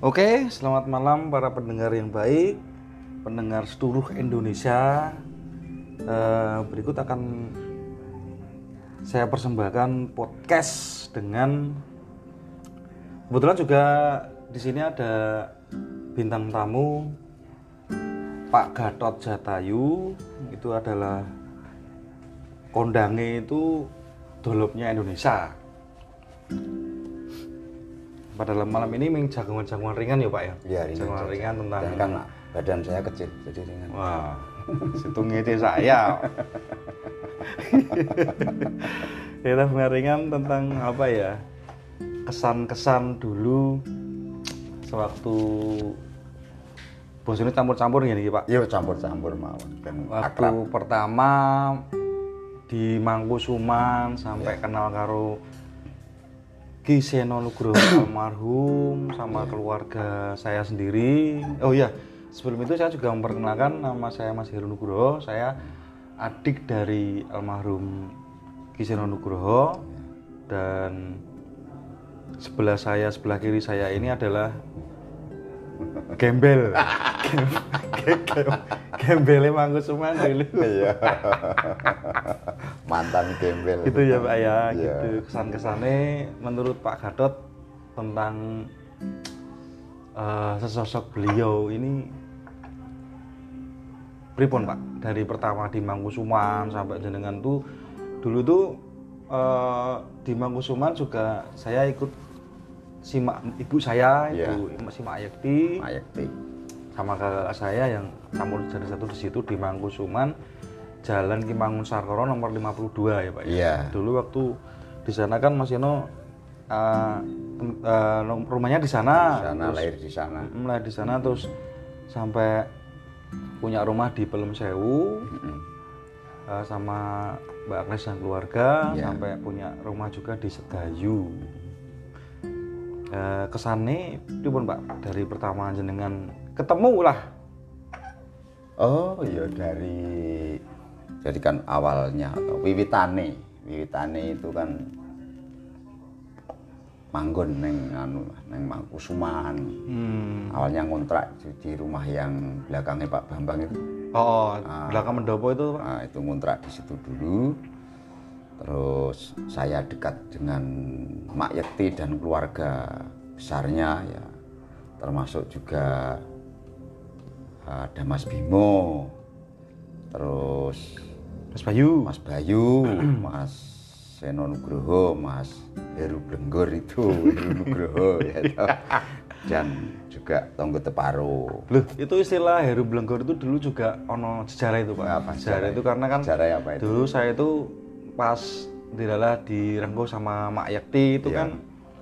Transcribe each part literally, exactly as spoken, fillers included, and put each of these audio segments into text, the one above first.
Oke, selamat malam para pendengar yang baik, pendengar seluruh Indonesia. Eh, berikut akan saya persembahkan podcast dengan kebetulan juga di sini ada bintang tamu Pak Gatot Jatayu. Itu adalah kondange itu dolopnya Indonesia. Pada malam ini ming jagungan-jagungan ringan ya Pak ya? Iya, ringan. Jagungan saja. ringan tentang Dan kan badan saya kecil jadi ringan. wah, situ ngece saya. Kita ringan tentang apa ya? Kesan-kesan dulu sewaktu bos ini campur-campur gini Pak. Iya, campur-campur mawon. Ben Waktu akrab. pertama di Mangkusuman sampai Ya. kenal karo Ki Seno Nugroho almarhum sama keluarga saya sendiri. Oh iya, sebelum itu saya juga memperkenalkan nama saya Mas Heru Nugroho. Saya adik dari almarhum Ki Seno Nugroho dan sebelah saya, sebelah kiri saya ini adalah Gembel. Gembelnya Mangkusuman dulu. Iya. Mantan gembel. Gitu ya Pak ya, Iya. gitu kesan-kesannya menurut Pak Gatot tentang uh, sesosok beliau ini pripun Pak, dari pertama di Mangkusuman sampai jenengan tuh dulu tuh uh, di Mangkusuman juga saya ikut simak ibu saya Iya. itu simak Ayekti Mayekti. sama kakak saya yang campur jadi satu di situ di Mangkusuman, Jalan Ki Mangunsarkoro nomor lima puluh dua ya Pak. Iya. Dulu waktu di sana kan Mas Yono uh, tem- uh, rumahnya di sana. Di sana, terus, lahir di sana. mm, lahir di sana terus sampai punya rumah di Pelem Sewu Mm-mm. uh, sama Mbak Agnes dan keluarga, Iya. sampai punya rumah juga di Sedayu. Uh, kesannya pripun Pak dari pertama jenengan ketemu lah. Oh iya, dari jadi kan awalnya atau wiwitane, wiwitane itu kan manggon neng anu neng Mangkusuman. Hmm. Awalnya ngontrak di, di rumah yang belakangnya Pak Bambang itu. Oh, Ah. belakang Mendopo itu Pak. Nah, itu ngontrak di situ dulu. Terus saya dekat dengan Mak Yekti dan keluarga besarnya ya, termasuk juga ada Mas Bimo, terus Mas Bayu. Mas Bayu, Mas Seno Nugroho, Mas Heru Blenggor itu, Heru Nugroho ya, toh. Dan juga Tonggo Teparo. Loh, itu istilah Heru Blenggor itu dulu juga ono sejarah itu Pak. Apa sejarah sejarah itu karena kan Sejarah apa itu? dulu saya itu pas dilalah direngkuh sama Mak Yakti itu Iya. kan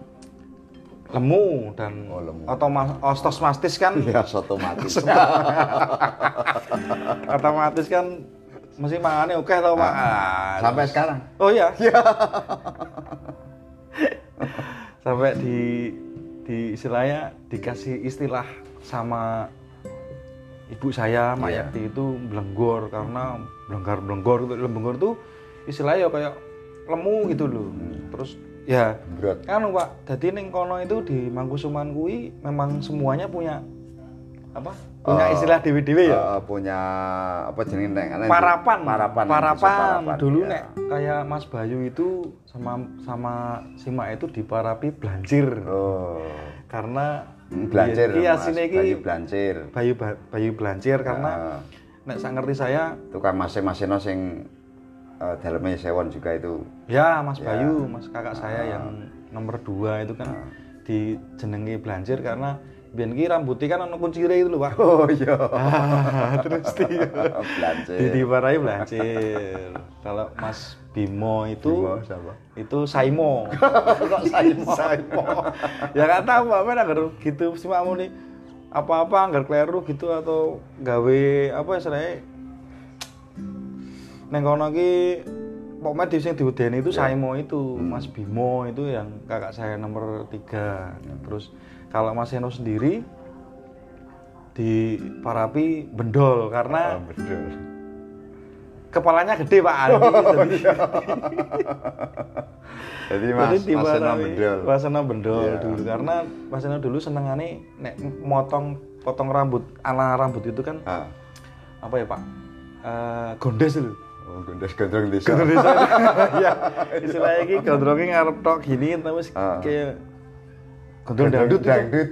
lemu dan Oh, lemu. otomas otomatis kan Ya, otomatis. otomatis kan mesti mangannya oke tau Pak. Ah, Sampai terus- sekarang. Oh iya. Sampai di di istilahnya dikasih istilah sama ibu saya Mak Iya. Yakti itu blenggor karena blenggar-blenggor itu blenggor itu istilahnya ya kayak lemu gitu loh. Terus ya Brot. kan Pak, jadi ning kono itu di Mangkusuman kuwi memang semuanya punya apa? Punya Oh, istilah dewe-dewe ya. Eh, punya apa jenenge nek nek- Parapan, parapan, parapan. parapan, Dulu ya. nek kayak Mas Bayu itu sama sama Sima itu diparapi blancir. Oh, Karena blancir, iya Mas. sini Bayu iki blancir. Bayu Ba- Bayu blancir karena Ah, nek sak ngerti saya itu kan masing-masing sing uh, dalamnya sewon juga itu. ya Mas Ya. Bayu, Mas kakak saya Ah. yang nomor dua itu kan Ah. dijenengi blancir karena biyen ki rambutnya kan ono kuncire itu lho Pak. Oh iya. Ah, terus di Blancir. di diwarai blancir. Kalau Mas Bimo itu Bimo siapa? itu Saimo. Kok Saimo? Saimo. Ya nggak tahu Pak, mana agar gitu sih Pak nih apa-apa anggar kleru gitu atau gawe apa istilahnya neng kono ki pokoknya di sing diudeni itu Ya. Saimo itu, Mas Bimo itu yang kakak saya nomor tiga. Terus kalau Mas Seno sendiri di Parapi Bendol karena Oh, betul. kepalanya gede Pak. Oh, Jadi- iya. Jadi Mas Jadi Mas Seno dimarahi Bendol. Mas Seno Bendol Iya. dulu karena Mas Seno dulu senengane nek motong potong rambut ala rambut itu kan Ah. apa ya Pak? Eh gondes dulu. Oh, gondes gondrong desa. Gondes desa. Iya. Istilahnya iki gondronge ngarep tok gini tapi Ah. kayak gondrong dangdut. itu. Dangdut.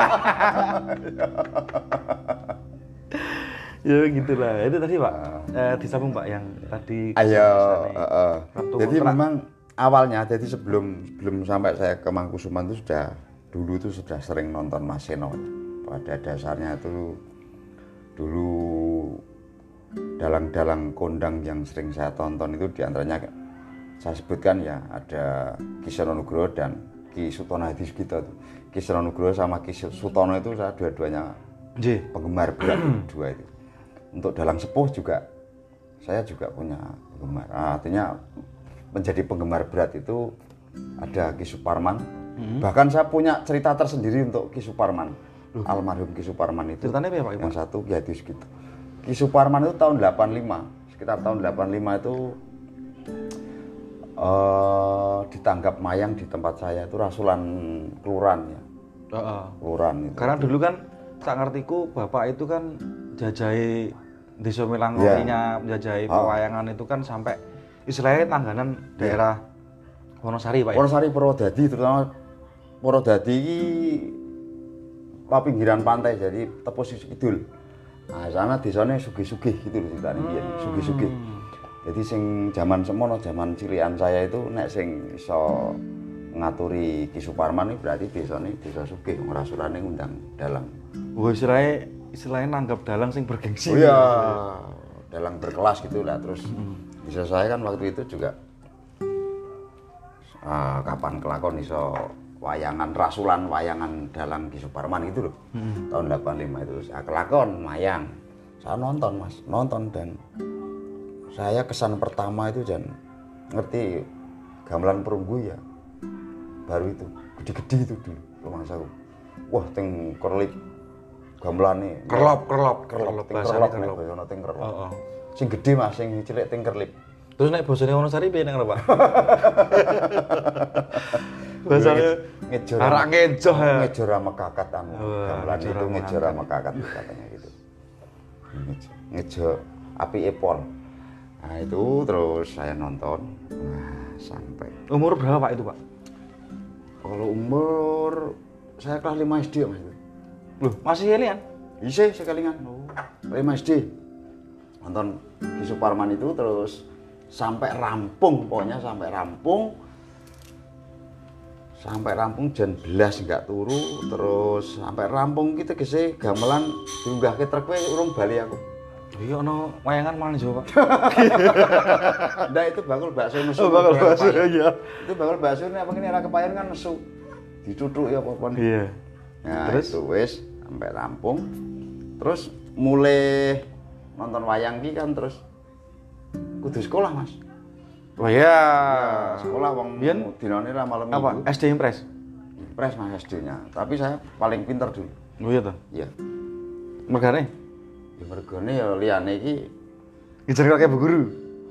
Ya gitulah. Itu tadi Pak. Eh, disambung Pak yang tadi Ayo, kisah-kisahnya. heeh. Waktu Jadi kontrak. memang awalnya, jadi sebelum sebelum sampai saya ke Mangkusuman itu sudah dulu itu sudah sering nonton Mas Seno. Pada dasarnya itu dulu dalang-dalang kondang yang sering saya tonton itu diantaranya saya sebutkan ya ada Ki Seno Nugroho dan Ki Sutono Hadisugito. Ki Seno Nugroho sama Ki Sutono itu saya dua-duanya Nggih. penggemar berat dua itu. Untuk dalang sepuh juga saya juga punya penggemar. Nah, artinya menjadi penggemar berat itu ada Ki Suparman. Hmm. Bahkan saya punya cerita tersendiri untuk Ki Suparman. Loh. Almarhum Ki Suparman itu. Ceritanya apa ya Pak? Yang satu Ki Hadisugito. Ki Suparman itu tahun delapan puluh lima, sekitar tahun delapan puluh lima itu uh, ditangkap mayang di tempat saya itu rasulan kelurahan ya. Heeh. Kelurahan itu. Karena dulu kan sak ngertiku Bapak itu kan jajahi desa Melangkotinya, menjajahi Oh. pewayangan itu kan sampai istilahnya tangganan daerah Wonosari Pak ya. Wonosari Purwodadi terutama Purwodadi iki pa pinggiran pantai jadi tepus kidul. Nah, sana desane sugih-sugih gitu lho ceritane biyen, sugih-sugih. Jadi sing zaman semono, zaman cilikan saya itu nek sing iso ngaturi Ki Suparman iki berarti desane desa sugih, rasulane ngundang dalang. Oh, istilahnya istilahnya nanggap dalang sing bergengsi. Oh iya, dalang berkelas gitu lah. Terus bisa saya kan waktu itu juga uh, kapan kelakon iso wayangan rasulan wayangan dalang Ki Suparman gitu loh. Hmm. Tahun delapan puluh lima itu saya kelakon mayang. Saya nonton Mas, nonton dan saya kesan pertama itu dan ngerti gamelan perunggu ya. Baru itu, gede-gede itu dulu rumahsaku. Wah, teng kerlip gamelane. Kerlop, kerlop, kerlop, ting bahasane kerlop, kerlop. bahasane ting kerlop. Heeh. Sing gede Mas, sing cilik ting kerlip. Terus nek bosone Wonosari piye nang Pak? Bahasane ngejor. arak ngejoh ya. Ngejor sama kakat anu. Wah, Gamelan ngejor itu sama ngejor sama kakat katanya gitu. Ngejor, ngejor api epol. Nah, itu terus saya nonton. Nah, sampai Umur berapa Pak itu Pak? kalau umur saya kelas lima S D Mas. Loh, masih alien? Isih sekalingan. lima S D. Nonton Ki Suparman itu terus sampai rampung, pokoknya sampai rampung. Sampai rampung jam belas enggak turu, terus sampai rampung kita gese gamelan diunggahke truk wae urung bali aku. Iya ono wayangan malah Jawa Pak. Ndak itu bakul bakso nesu. Oh, bakul bakso iya. Itu bakul bakso ini apa ini era kepayan kan nesu. Dituthuk ya apa-apa. Iya. Nah, Terus? itu wis sampai rampung. Terus mulai nonton wayang ki kan terus kudu sekolah, Mas. Oh iya. Ya, sekolah wong Biyen dinane ra malam apa? minggu. S D Impres. Impres Mas S D-nya. Tapi saya paling pinter dulu. Oh iya toh. Iya. Mergane Ya mergone ya liyane iki ngejar kayak bu guru.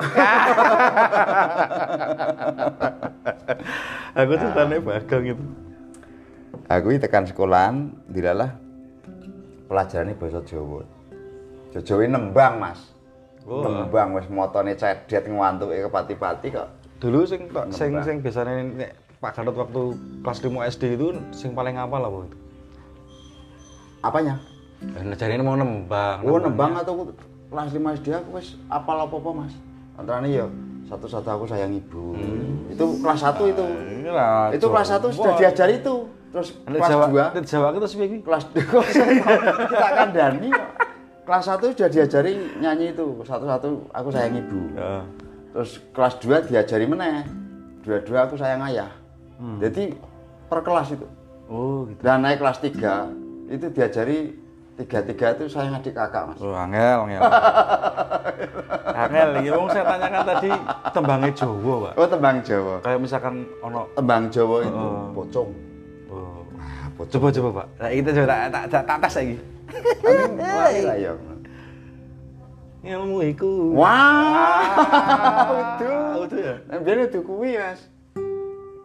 Aku tuh tane Bagong itu. aku iki tekan sekolahan dilalah pelajarane basa Jawa. Jajawe nembang, Mas. Oh. Nembang wis motone cedet ngwantuke kepati-pati kok. Dulu sing tok sing Nembang. sing biasane nek Pak Gatot waktu kelas lima S D itu sing paling hafal apa itu? Apanya? Dan jarine mau nembang. Oh, nembang atau kelas lima S D aku wis apal apa-apa, Mas. Antarane ya satu-satu aku sayang ibu. Hmm. Itu kelas satu itu. Iyalah. Itu kelas satu sudah diajari itu. Terus Nek kelas Jawa, dua nek Jawa itu piye iki? kelas dua kita kandani kok. Kelas satu sudah diajari nyanyi itu. Satu-satu aku sayang ibu. Heeh. Terus kelas dua diajari meneh. Dua-dua aku sayang ayah. Hmm. Jadi per kelas itu. Oh, gitu. Dan naik kelas tiga itu diajari tiga-tiga itu sayang adik kakak, Mas. Oh, angel, angel. Angel, iki wong saya tanyakan tadi tembangnya Jawa, Pak. Oh, tembang Jawa. Kayak misalkan ono Tembang Jawa itu Oh. pocong. oh. Ah, pocong. Coba coba, Pak. Nah, kita coba tak tak tak, tak tes lagi. Amin. Lah ya. Ilmu iku. Wah, itu. Itu ya. Nah, biar itu kuwi, Mas.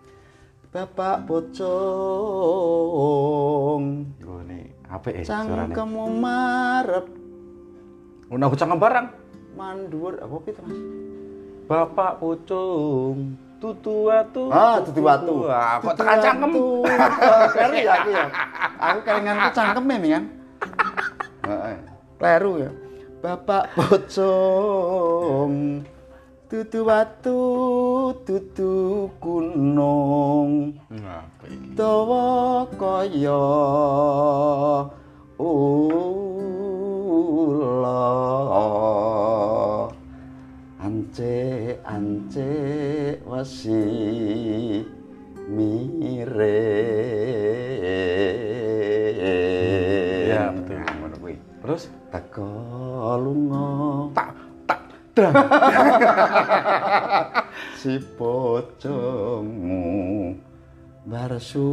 Bapak Pocong. Oh ini apik eh suarane. Cangkemmu marep. Ono aku cangkem barang. Mandur apa itu Mas? Bapak Pocong, tutu watu. Ah, tutu watu. Wah, kok tekan cangkem. Kleru ya aku ya. Aku kelinganku cangkeme nih kan. Heeh. Kleru ya. Bapak Pocong, tutu watu, tutu gunung. Nah, iki. Dawa kaya ula. Ance ance wasi mire. Ya, betul. Nah, ngono kuwi. Terus Teko lunga tak tak dang. si pocongmu barsu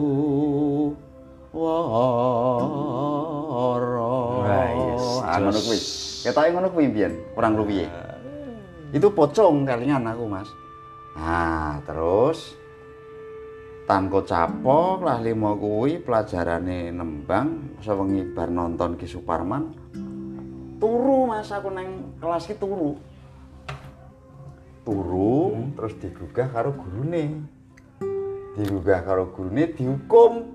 wara. Wah, yes, Ah, ngono kuwi. Ketoke ngono kuwi mbiyen, kurang luwih. Itu pocong kalingan aku Mas. Nah terus tanko capok lah lima kuwi pelajarane nembang sewengi bar nonton Ki Suparman turu Mas aku neng kelas ki turu turu hmm. Terus digugah karo gurune digugah karo gurune dihukum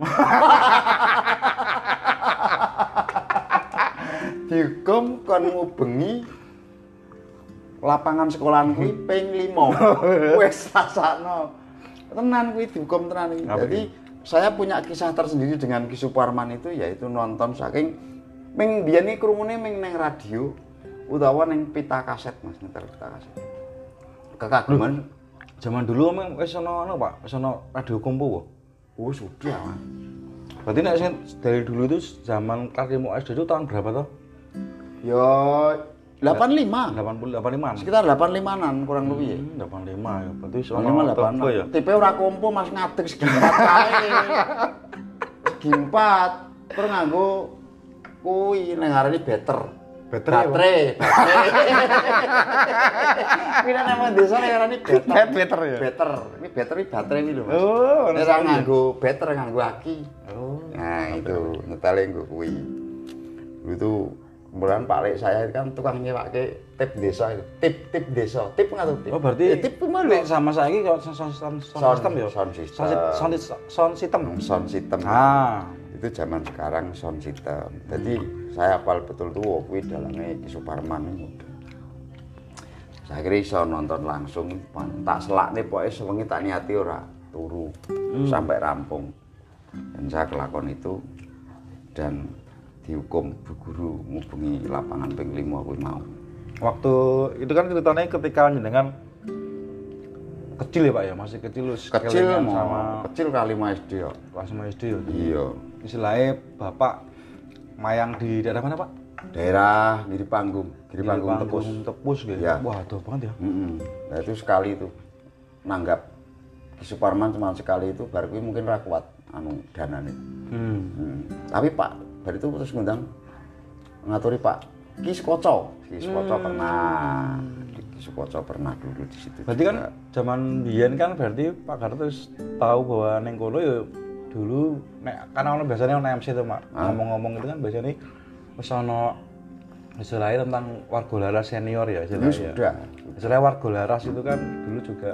dihukum kon ngubengi lapangan sekolahan kuwi ping lima. Wis rasakno. Tenan kuwi dihukum tenan iki. Jadi saya punya kisah tersendiri dengan Ki Suparman itu yaitu nonton saking ming biyen iki krungune ming ning radio utawa ning pita kaset Mas, nyetel pita kaset. Kekaguman zaman dulu emang wis ana ono Pak, wis ana radio kompo wae. Oh, sudah Mas. Berarti nek sing dari dulu itu zaman kelas lima S D itu tahun berapa toh? Ya delapan puluh lima. delapan puluh delapan puluh lima. Sekitar delapan puluh lima-an kurang lebih ya. Hmm, delapan puluh lima ya. Berarti delapan puluh lima delapan puluh enam. Tipe ora kompo Mas ngadeg segi empat kae. Segi empat terus nganggo kuwi nang arane better. Better baterai. Kuwi nang nang desa nang arane better. Better ya. Better. Ini baterai baterai iki lho Mas. Oh, nek ora nganggo better nganggo aki. Oh. Nah, itu ngetale nggo kuwi. Itu kemudian Pak Lek saya kan tukang nyewake tip desa itu. Tip tip desa. Tip ngatur tip. Oh, berarti eh, tip mana? Sama saiki kok sound system ya. Sound system. Sound sound system. Sound system. Ah, itu zaman sekarang sound system. Jadi saya hafal betul tuh oh, kuwi dalane Ki Suparman itu. Saya kira iso nonton langsung, tak selakne pokoke sewengi tak niati ora turu hmm. sampai rampung. Dan saya kelakon itu dan dihukum Bu Guru ngubengi lapangan ping lima kuwi mau. Waktu itu kan ceritanya ketika jenengan kecil ya Pak ya, masih kecil lu kecil sama kecil kali lima S D ya. Kelas lima S D ya. Iya. Istilahnya Bapak mayang di daerah mana Pak? Daerah Giri Panggung, Giri Panggung Tepus. Tepus gitu. Ya. Wah, aduh banget ya. Mm-hmm. Nah itu sekali itu nanggap Ki Suparman cuma sekali itu baru kuwi mungkin ra kuat anu danane. Hmm. Hmm. Tapi Pak baru itu terus ngundang ngaturi Pak Ki Sukoco. Ki Sukoco hmm. pernah. Ki Sukoco pernah dulu di situ. Berarti juga. Kan zaman biyen kan berarti Pak Garto terus tahu bahwa neng kono ya dulu nek kan ono biasanya ono M C tuh Mak. Ah. Ngomong-ngomong itu kan biasanya wis ono istilahnya tentang warga laras senior ya istilahnya. Ya, sudah. Istilahnya warga laras itu kan dulu juga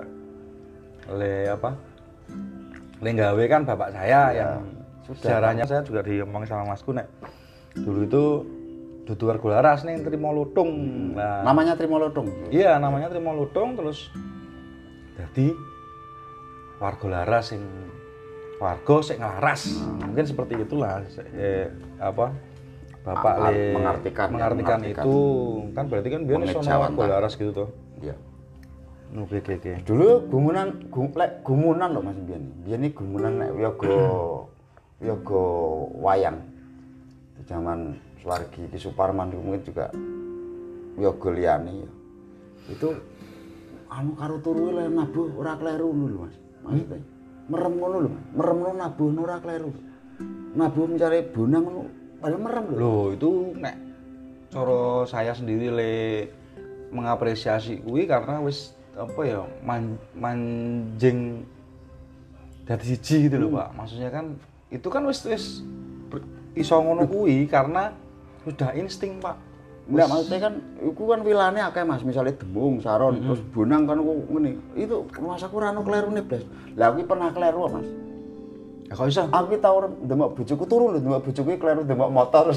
le apa? Le gawe kan bapak saya ya, yang sejarahnya saya juga diomong sama Masku nek dulu itu dudu warga laras nih Trimo Lutung. Nah, namanya Trimo Lutung. Iya, namanya Trimo Lutung terus jadi warga laras sing warga sing nglaras. Hmm. Mungkin seperti itulah eh, apa Bapak Mengar- le mengartikan, mengartikan, ya, mengartikan itu kan berarti kan biyen sono warga laras gitu toh. Iya. Oke oke oke. Dulu gumunan gum, lek gumunan lho Mas biyen. Biyen iki gumunan nek yoga yoga wayang. Di zaman Suwargi Ki Suparman mungkin juga yoga liyane ya. Itu anu karo turu le nabuh ora kleru ngono lho Mas. Maksudnya merem ngono lho Mas. Merem ngono nabuh ora kleru. Nabuh mencari bonang ngono padahal merem lho. Loh, itu nek cara saya sendiri le mengapresiasi kuwi karena wis apa ya man, manjing dadi siji gitu loh, Pak. Maksudnya kan itu kan wis wis iso ngono kuwi karena sudah insting, Pak. Enggak, maksudnya kan iku kan wilane akeh Mas, misalnya Demung, Saron, mm-hmm. terus Bonang kan ku ngene. Itu Mas aku ora ono klerune, Blas. Lah aku pernah kleru, Mas. Ya kok iso? Aku tau ndemek bojoku turu lho, ndemek bojoku kleru ndemek motor terus.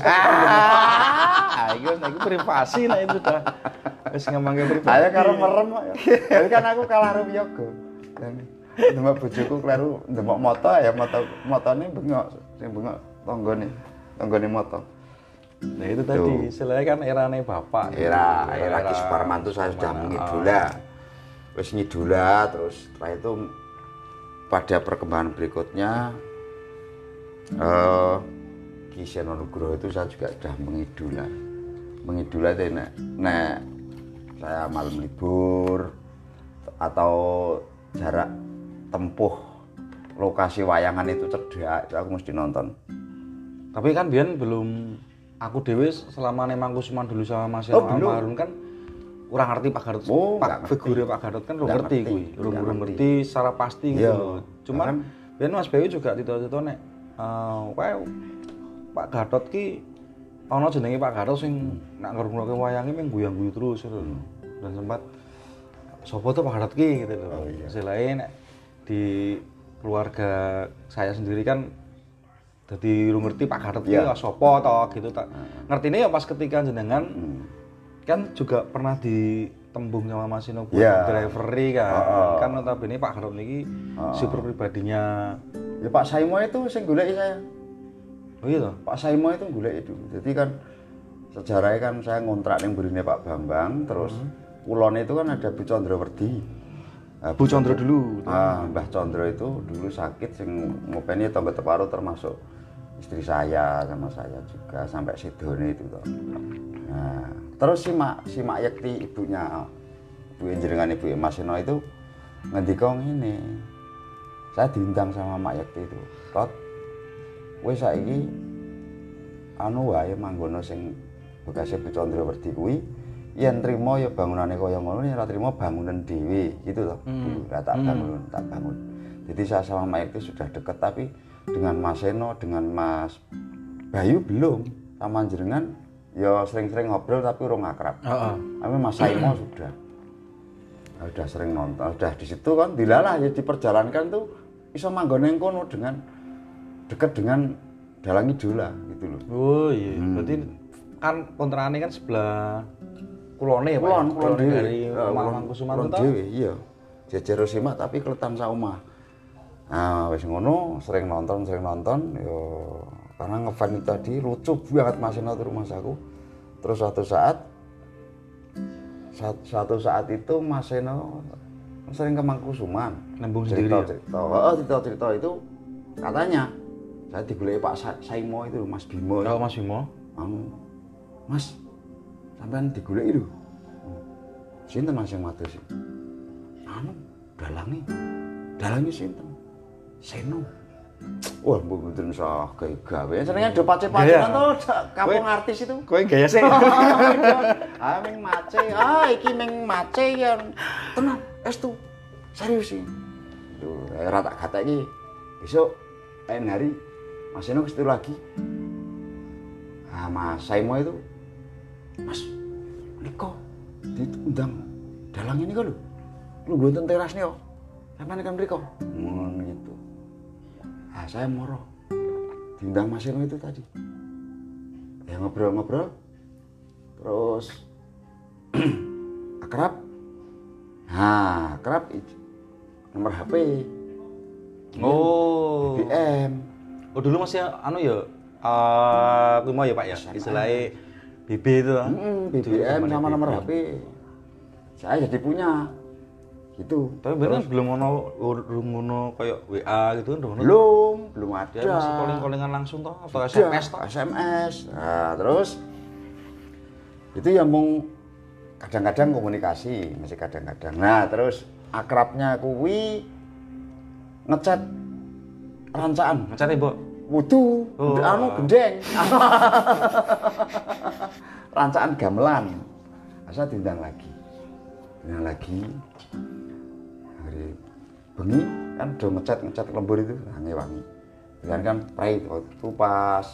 Ah, iki wis iki privasi nek itu dah. Wis ngemangke privasi. Ayo karo merem kok. Jadi kan aku kalah karo yoga. Ndemek bojoku kleru ndemek motor ya motor motone bengok, sing bengok tanggane. Tanggane motor. Nah itu tadi, istilahnya kan erane bapak. Era era Ki Suparman tuh saya sudah mengidola. Wis ngidola terus setelah itu pada perkembangan berikutnya uh, Ki Seno Nugroho itu saya juga sudah mengidola. Mengidola itu nek, nek saya malam libur atau jarak tempuh lokasi wayangan itu cedhak, itu aku mesti nonton. Tapi kan biyen belum aku dewe selama nemang Kusuman dulu sama Mas Seno Almarhum kan kurang ngerti Pak Gatot, oh, Pak figure Pak Gatot kan belum ngerti kuwi, belum ngerti secara pasti gitu loh. Cuman biyen Mas Bewi juga tito-tito nek uh, wae Pak Gatot ki ana jenenge Pak Gatot sing nak ngrungokke wayange mung guyang-guyu terus gitu loh. Dan sempat sapa tuh Pak Gatot ki gitu loh. Selain nek di keluarga saya sendiri kan dadi ngerti Pak Gatot ki ya sapa to gitu tak. Ngertine ya pas ketika jenengan kan juga pernah ditembung sama Mas Seno buat yeah. drivery kan. Uh, kan notabene Pak Gatot niki uh, super pribadinya. Ya Pak Saimo itu sing goleki saya. Oh iya toh? Pak Saimo itu goleki itu. Jadi kan sejarahnya kan saya ngontrak ning burine Pak Bambang, terus hmm. kulone itu kan ada Bu Condrawerdi. Nah, Bu Condro dulu. Ah, Mbah Condro itu dulu sakit sing ngopeni tangga teparo termasuk istri saya sama saya juga sampai sidone itu toh. Nah, terus si Mak si Mak Yekti ibunya Bu jenengan Ibu Mas Seno itu ngendika ngene. Saya diundang sama Mak Yekti itu. Tot wis saiki anu wae manggono sing bekase Bu Condrawerdi kuwi yen trimo ya bangunane kaya ngono, yen ora trimo bangunan dhewe gitu toh. Hmm. Dulu tak bangun, hmm. tak bangun. Jadi saya sama Mak Yekti sudah dekat tapi dengan Mas Seno, dengan Mas Bayu belum. Sama jenengan ya sering-sering ngobrol tapi urung akrab. Heeh. Tapi Mas Saimo sudah. Nah, sudah sering nonton, sudah di situ kan dilalah ya diperjalankan tuh iso manggone kono dengan dekat dengan Dalang Idola gitu loh. Oh iya, hmm. berarti kan kontrakannya kan sebelah kulone ya Pak. Kulon, kulon dari Mamang Kusuman to. Dhewe iya. Jejer Simak tapi kletan saomah. Nah, wis ngono sering nonton, sering nonton yo karena ngefan itu tadi lucu banget Mas Seno ke rumah aku. Terus suatu saat suatu saat itu Mas Seno sering ke Mangkusuman nembung sendiri. Cerita, oh, cerita-cerita itu katanya saya digoleki Pak Saimo itu Mas Bimo. Oh, Mas Bimo. Anu. Mas, sampean digoleki lho. Sinten Mas yang matur sih? Anu, dalange. Dalange sinten? Seno. Wah, mbok mboten sah gawe. Senenge do pace-pacean to kampung artis itu. Kowe gaya sih. Ah, ming mace. Ah, iki ming mace ya. Tenan, estu. Serius sih. Duh, ora tak kata iki. Besok lain hari Mas Seno kestu lagi. Ah, Mas Saimo itu. Mas, niko diundang dalang ini kok lho. Lu mboten teras nih kok. Sampeyan kan mriko. Ngono gitu. Ah, saya moro. Diundang Mas Seno itu tadi. Ya ngobrol-ngobrol. Terus akrab. Nah, akrab nomor H P. Oh, B B M. Oh, dulu masih anu ya eh uh, mau ya Pak ya. Istilahnya B B itu. Heeh, B B M sama nomor H P. Saya jadi punya. Gitu. Tapi bener belum ngono ngono kayak W A gitu kan belum, belum ada. Ya masih calling-callingan langsung toh atau S M S toh? S M S. Nah, terus itu ya mau kadang-kadang komunikasi, masih kadang-kadang. Nah, terus akrabnya kuwi ngechat rancaan. Ngechat Mbok. Wudu, oh. anu gendeng. Rancaan gamelan. Asa diundang lagi. Diundang lagi. Hari bengi kan udah ngecat ngecat lembur itu wangi-wangi. Dan kan prei itu pas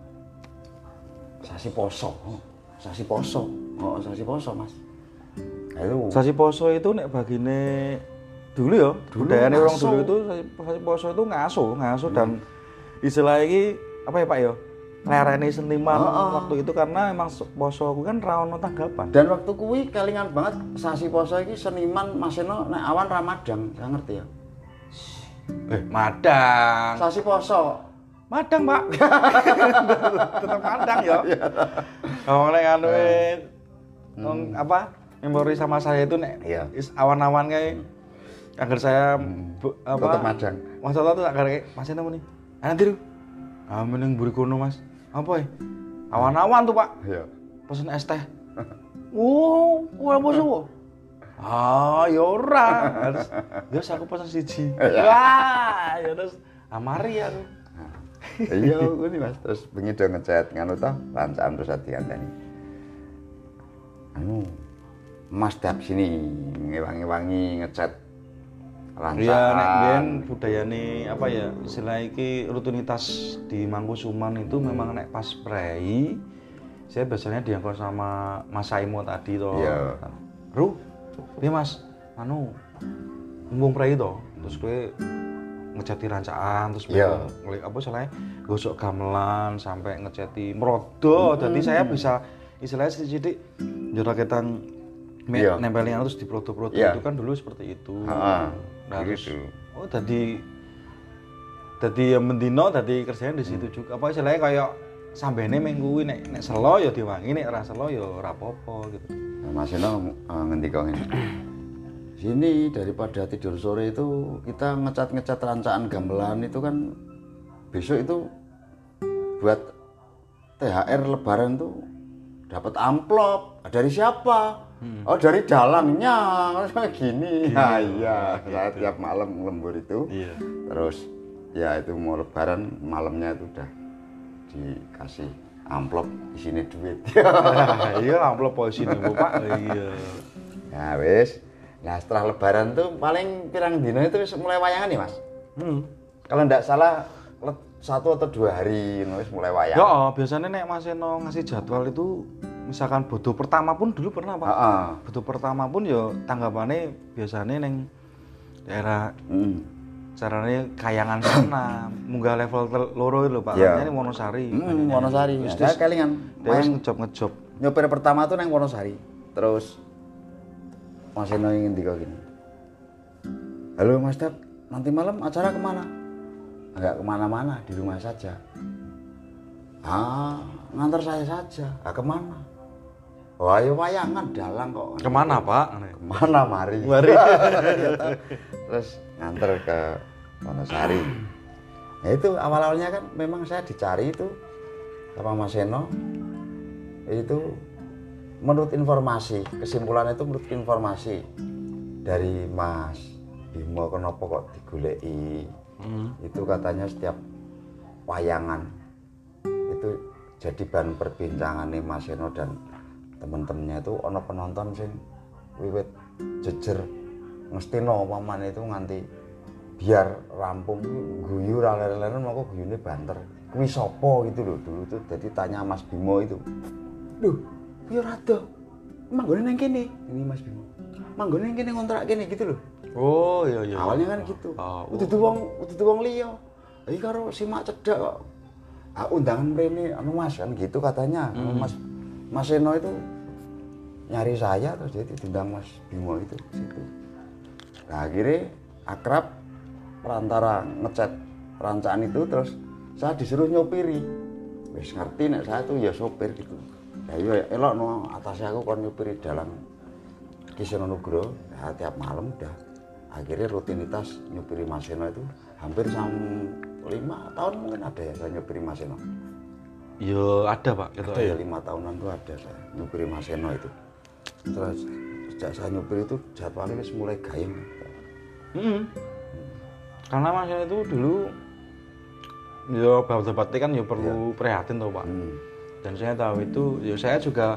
sasi poso, sasi poso, oh sasi poso mas. Nah, itu sasi poso itu nek bagine dulu ya, budayane orang dulu itu sasi poso itu ngaso, ngaso hmm. dan istilah iki apa ya Pak ya? Lereni seniman oh, oh. waktu itu karena emang poso aku kan ra ono tanggapan. Dan waktu kuwi kelingan banget sasi poso iki seniman Mas Eno nek awan Ramadan, gak ngerti ya. Eh, Madang. Sasi poso. Madang, Pak. Tetep Madang ya. Oh, nek anu hmm. apa? Memori sama saya itu nek iya. awan-awan kayak agar saya hmm. bu, apa? Tetep Madang. Masalah tuh agar kayak Mas Eno nih. Ah, nanti lu. Ah, meneng mburi kono, Mas. Apa ya? Awan-awan tuh, Pak. Iya. Pesen es teh. Wow, ora poso. Ah, ya ora. Harus terus aku pesen siji. Wah, ya terus amari aku. Iya, ngene Mas, terus bengi do ngecat ngono to, lancaan terus dianteni. Anu Mas tiap sini ngewangi-wangi ngecat lancaan. Iya, nek biyen budayane apa ya, istilah iki rutinitas di Mangkusuman itu memang nek pas prei saya biasanya diangkut sama Mas Saimo tadi toh. Iya. Ru, piye Mas? Anu mumpung prei to, terus kowe ngeceti rancaan terus yeah. apa salahnya gosok gamelan sampai ngeceti merodo. Jadi hmm. saya bisa istilahnya sedikit joraketan yeah. nempelin terus diprodo-prodo yeah. itu kan dulu seperti itu. Heeh. Nah, gitu. Oh, tadi tadi mendino tadi kerjanya di situ hmm. juga. Apa istilahnya kayak sambene minggu nek nek selo ya diwangi, nek ora selo ya ora apa-apa gitu. Nah, Mas Eno uh, ngendika ngene. Sini daripada tidur sore itu kita ngecat-ngecat rancaan gamelan itu kan besok itu buat T H R lebaran tuh dapat amplop. Dari siapa? Hmm. Oh, dari dalangnya. Gini. Nah, iya, saya tiap malam lembur itu. Iya. Terus ya itu mau lebaran malamnya itu udah dikasih amplop isinya duit. Iya, amplop isinya Pak. Iya. Ya wis. Nah setelah lebaran tuh paling pirang dino itu mulai wayangan nih Mas. Hmm. Kalau enggak salah satu atau dua hari nulis mulai wayang. Ya oh, biasanya nek Mas Eno ngasih jadwal itu misalkan bodo pertama pun dulu pernah Pak. Heeh. Bodo pertama pun ya tanggapannya biasanya neng daerah hmm. caranya kayangan sana munggah level loro lho Pak. Yeah. Ini Wonosari. Hmm, Wonosari. Ya, saya kelingan. Terus ngejob-ngejob. Nyopir pertama tuh neng Wonosari. Terus Mas Eno ingin tiga gini. Halo Mas Dap, nanti malam acara kemana? Enggak kemana-mana, di rumah saja. Ah, ngantar saya saja. Ah, kemana? Oh, ayo wayangan dalang kok. Kemana Pak? Kemana mari? Mari. Terus ngantar ke Wonosari. Nah itu awal-awalnya kan memang saya dicari itu sama Mas Eno. Itu menurut informasi, kesimpulannya itu menurut informasi dari Mas Bimo kenapa kok digoleki hmm. itu katanya setiap wayangan itu jadi bahan perbincangan nih Mas Eno dan teman-temannya itu ono penonton sing wiwit jejer ngestino paman itu nganti biar rampung guyu leren-leren moko guyune banter kuwi sapa gitu loh dulu tuh jadi tanya Mas Bimo itu duh ya rada manggone nang kene ini Mas Bimo manggone nang kene ngontrak kene gitu loh. Oh iya iya awalnya kan gitu oh, oh. Udah wong udah wong liya iki karo simak cedhak kok ah, undangan mrene anu Mas kan gitu katanya hmm. Mas Mas Eno itu nyari saya terus jadi diundang Mas Bimo itu situ. Nah akhirnya akrab perantara ngecat rancaan itu terus saya disuruh nyopiri wis ngerti nek saya tuh ya sopir gitu. Ya iya elok no atasnya aku kon nyupiri dalang Ki Seno Nugroho nah, tiap malam udah akhirnya rutinitas nyupiri Mas Eno itu hampir sampai lima tahun mungkin ada ya saya nyupiri Mas Eno. Iya ada Pak gitu ada ya lima tahunan tuh ada saya nyupiri Mas Eno itu. Terus sejak saya nyupiri itu jadwalnya mulai gayeng. Hmm. Hmm. Karena Mas Eno itu dulu ya bapak-bapak kan ya perlu ya. Prihatin tuh Pak. Hmm. Dan saya tahu itu, ya saya juga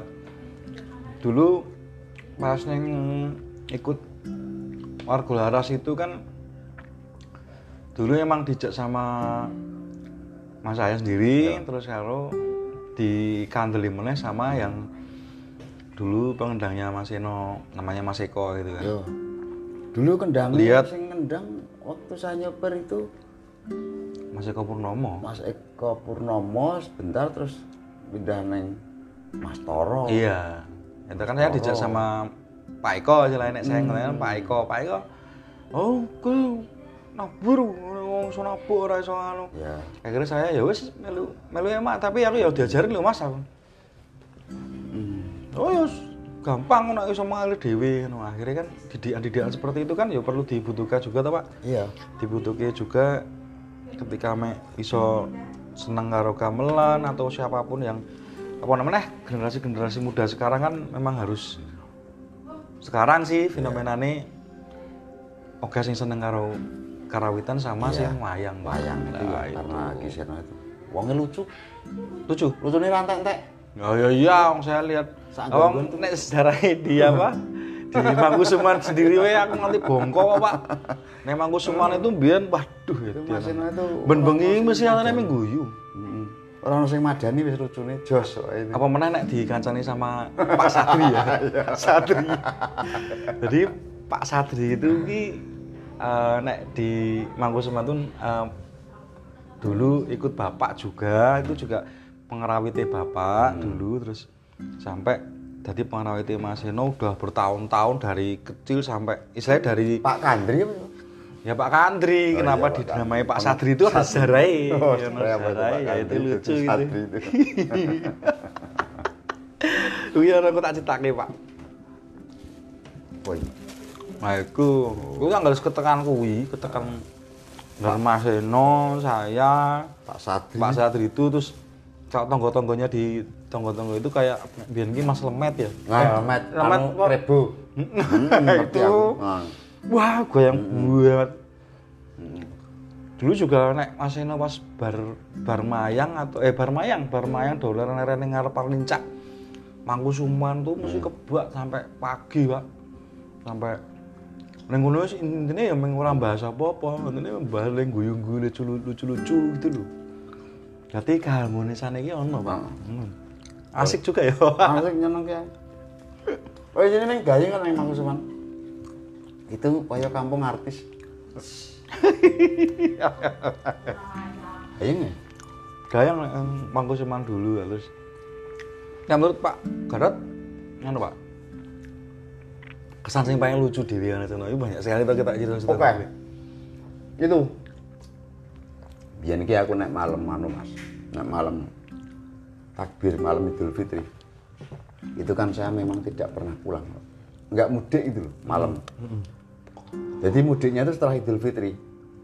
dulu pas neng ikut Warga Laras itu kan dulu emang dijak sama mas saya sendiri, ya. terus kalau dikandeli meneh sama yang dulu pengendangnya Mas Eno, namanya Mas Eko gitu kan. Yo. Dulu kendang Lihat. sing ngendang waktu saya nyoper itu Mas Eko Purnomo. Mas Eko Purnomo sebentar terus pindah neng Mas Toro. Iya. Itu kan saya dijak sama Pak Eko aja lah, nek saya ngeliat Pak Eko, Pak Eko. Oh, ku nabur, wong iso nabur ora iso anu. Ya. Akhirnya saya ya wis melu melu emak, tapi aku ya diajarin lho Mas aku. Hmm. Oh ya gampang nek iso mengalir dhewe ngono. Akhirnya kan didikan-didikan seperti itu kan ya perlu dibutuhkan juga toh Pak. Iya. Dibutuhke juga ketika mek iso seneng karo gamelan atau siapapun yang apa namanya generasi-generasi muda sekarang kan memang harus sekarang sih fenomenane oke sing seneng karo karawitan sama Iya. sing wayang. Wayang itu Nah, ya, karena Kiseno itu wongnya lucu. lucu. Lucunya rantek-entek. Oh ya iya, wong saya lihat. Sak Wong nek sejarahnya dia apa? Di Mangkusuman sendiri wae aku nganti bongko Pak. Nek Mangkusuman itu mbiyen waduh ya. Itu Maseno itu Ben bengi mesti antene mengguyu. Heeh. Orang sing madani wis lucune jos wae ini. Apa meneh nek dikancani sama Pak Sadri ya? Sadri. Jadi Pak Sadri itu ki uh, nek di Mangkusuman tuh uh, dulu ikut bapak juga, itu juga pengerawitnya bapak hmm. dulu, terus sampai jadi pengerawitnya Mas Eno udah bertahun-tahun dari kecil sampai istilahnya dari Pak Kandri apa? ya Pak Kandri, Oh, kenapa iya, dinamai Pak Sadri itu ada sejarahnya. Oh, ya, sejarah apa itu, Pak ya itu Kandri lucu itu, gitu. Sadri itu. Iya, aku tak citake Pak. Woi. Nah itu, itu kan harus ketekan kuwi, ketekan dari Mas Eno, saya, Pak Sadri. Pak Sadri itu, terus tonggo-tonggonya di tonggo-tonggo itu kayak biar ini Mas Lemet ya. Nah, Lemet, Lemet anu kok. Rebo. Itu, wah goyang banget. Dulu juga nek Mas Eno pas bar bar mayang atau eh bar mayang, bar mayang dolan ning ngarep Lincak. Mangkusuman tuh mesti kebak sampai pagi, Pak. Sampai ning ngono wis intine ya mung ora bahas apa-apa, intine bahas ning guyu-guyu lucu-lucu gitu lho. Berarti keharmonisan iki ono, Pak. Hmm. Asik juga ya. Asik nyeneng ya. Oh, ini ning Gayeng kan ning Mangkusuman. Itu kaya kampung artis. Gayeng ya? Gayang nek Mangkusuman dulu terus. Ya menurut Pak Garot, ngono Pak. Kesan sing paling lucu dhewe ana sono iki banyak sekali Pak kita cerita-cerita. Oke. Itu. Biyen iki aku nek malam anu Mas. Nek malam takbir malam Idul Fitri. Itu kan saya memang tidak pernah pulang. Enggak mudik itu loh, malam. Hmm. Jadi mudiknya itu setelah Idul Fitri.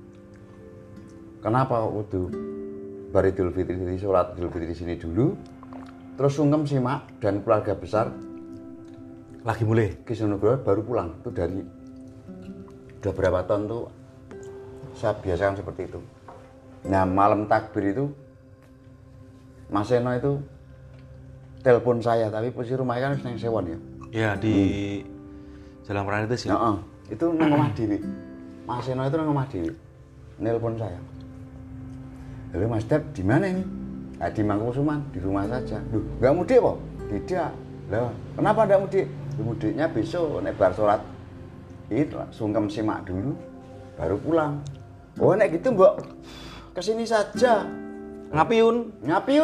Kenapa kok kudu bar Idul Fitri, jadi sholat Idul Fitri di sini dulu, terus sungkem simak dan keluarga besar Lagi mulai. Kiseno baru pulang. Itu dari udah berapa tahun tuh saya biasakan seperti itu. Nah malam takbir itu Mas Eno itu telepon saya, tapi posisi rumahnya kan nang Sewon ya. Ya di hmm. Jalan Pranitis ya. Heeh. Itu nang omah dhewe. Mas Eno itu nang omah dhewe. Nelpon saya. Halo Mas Dep, di mana ini? Ah, di Mangkusuman, di rumah saja. Duh, enggak mudik kok? Tidak. Lah, kenapa enggak mudik? Mudiknya besok nek bar salat. Itu sungkem simak dulu baru pulang. Oh, nek gitu, Mbok. Kesini saja. Ngapiun? Ngapiun.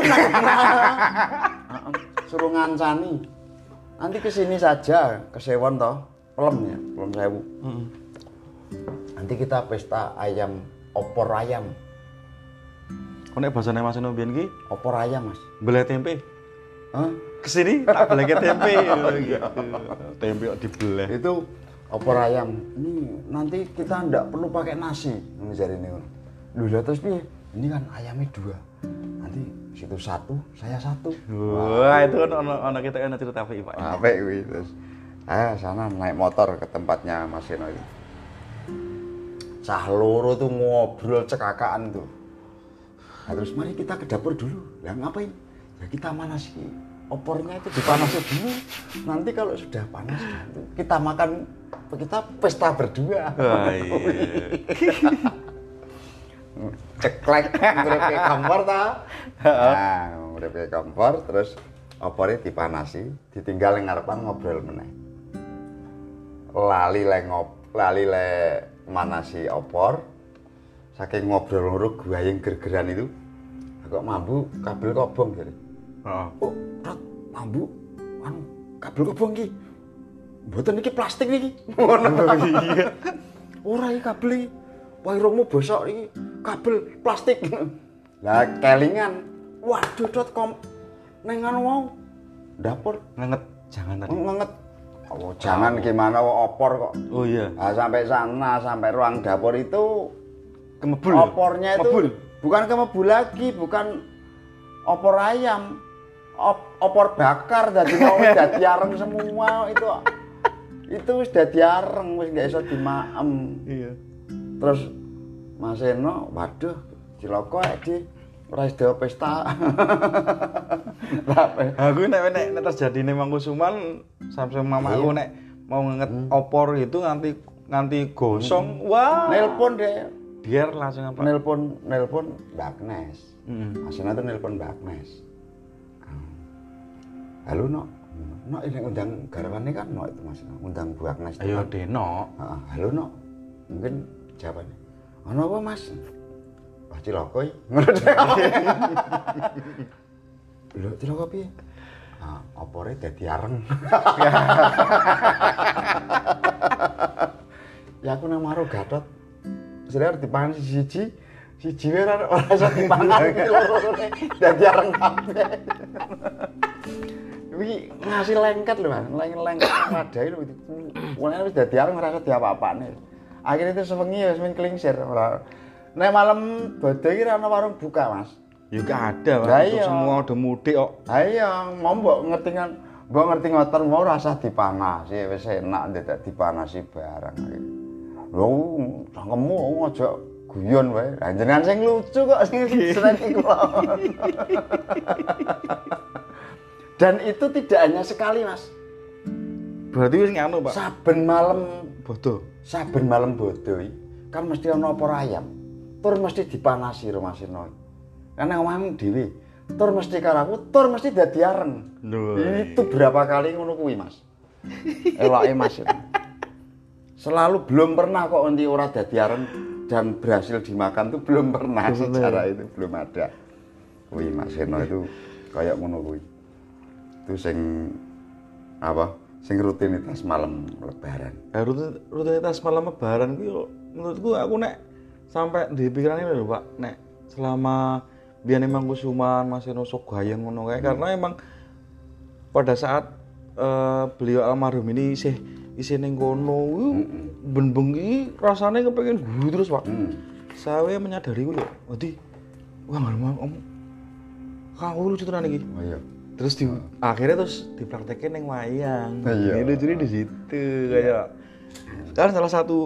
Suruh ngancani. Nanti kesini saja, ke Sewon toh. Pelem ya, Pelem Sewu. Heeh. Nanti kita pesta ayam, opor ayam. Kok nek basane Mas Eno biyen ki Opor ayam, Mas. beleh tempe. Hah? Kesini tak belehke tempe. Tempe kok dibeleh. Itu opor ayam. Ini nanti kita ndak perlu pakai nasi. Misalnya ini. Loh, lah terus piye? Ini kan ayamnya dua. Nanti situ satu, saya satu. Wah, itu kan ono ono kita ana cerita apik, Pak. Apik kuwi terus. Ah, sana naik motor ke tempatnya Mas Eno itu. Cah loro tuh ngobrol cekakaan tuh. Nah, terus mari kita ke dapur dulu. Lah ngapain? Ya kita manasi opornya itu dipanasi dulu. Nanti kalau sudah panas kita makan, kita pesta berdua. Wah, iya. ceklek ngrepe kompor ta. Nah, ngrepe kompor terus opore dipanasi, ditinggal ning ngarepan ngobrol meneh. Lali le ngop, lali le manasi opor. Saking ngobrol loro guayeng gergeran itu. Kok mambu kabel kobong jare. Heeh. Oh, Rat, mambu anu kabel kobong iki. Mboten iki plastik niki. Ngono. Iya. Ora iki kabel iki. Wairungmu bosok iki kabel plastik. Lah kelingan. Waduh, Dot kom ning anu mau dapur ngenget jangan tadi. Ngenget. Oh, jangan gimana opor kok. Oh iya. Nah, sampai sana, sampai ruang dapur itu Kemebul. Opornya itu Kemebul. bukan kemebul lagi, bukan opor ayam. Op, opor bakar dadi mau dadi areng semua itu. Itu wis dadi areng, wis gak iso dimaem. Iya. Terus Mas Eno, waduh, cilaka iki ora iso pesta. Aku nek nek nek terjadi ning Mangkusuman sampe mamaku nek mau ngenget hmm. opor itu nganti nganti gosong. Hmm. Wah. Nelpon deh. Biar langsung apa? Nelpon nelpon Mbak Agnes. Heeh. Hmm. Mas Eno tuh nelpon Mbak Agnes. Halo, Nok. Nok ini undang garwane kan Nok itu Mas Eno, undang Bu Agnes. Ayo Deno. Heeh, halo Nok. Mungkin jawabannya. Ono apa Mas? Wah cilaka iki. Ngono dhek. Lho cilaka piye? Ah, opore dadi areng. Ya aku nang maro Gatot. Sebenarnya dipangan siji-siji, siji wae ora ora iso dipangan iki loro-lorone dadi areng kabeh. Iki ngasih lengket lho, Mas. Lengket padhae lho. Wong wis dadi areng ora iso diapa-apane. Akhirnya itu sewengi wis men klingsir ora. Nek malam bodho iki ora ana warung buka, Mas. Ya gak ada, Mas. Untuk semua udah mudik kok. Ha iya, mau mbok ngerti kan, mbok ngerti ngoten mau rasa dipanasi, wis enak ndak dipanasi barang iki. Lho, cangkemmu aja guyon wae. Lah jenengan sing lucu kok sing seneng kula. Dan itu tidak hanya sekali, Mas. Berarti wis nganu, Pak. Saben malam bodo. Saben malam bodo iki kan mesti ana opor ayam. Tur mesti dipanasi Mas Eno. Karena omahmu dhewe. Tur mesti karo aku, tur mesti dadi areng. Lho. Itu berapa kali ngono kuwi, Mas. Eloke Mas. Selalu belum pernah kok nanti ora dadi areng dan berhasil dimakan tuh belum pernah secara itu belum ada. Kuwi Mas Eno itu kayak ngono kuwi. Itu sing apa? Sing rutinitas malam lebaran. Eh, rutin, rutinitas malam lebaran kuwi menurutku aku nek sampai di pikiran ini lho, Pak. Nek selama biyen emang Kusuman Mas Eno sok gayeng ngono kae hmm. karena emang pada saat uh, beliau almarhum ini isih isih ning kono hmm. ben bengi rasane kepengin guru terus, Pak. Hmm. Saya menyadari ku lho, dadi wah ngomong om kang lucu tenan iki. Oh iya. Terus di, oh. akhirnya terus dipraktekin yang wayang. Iya. Ini jadi di situ kayak. Kan salah satu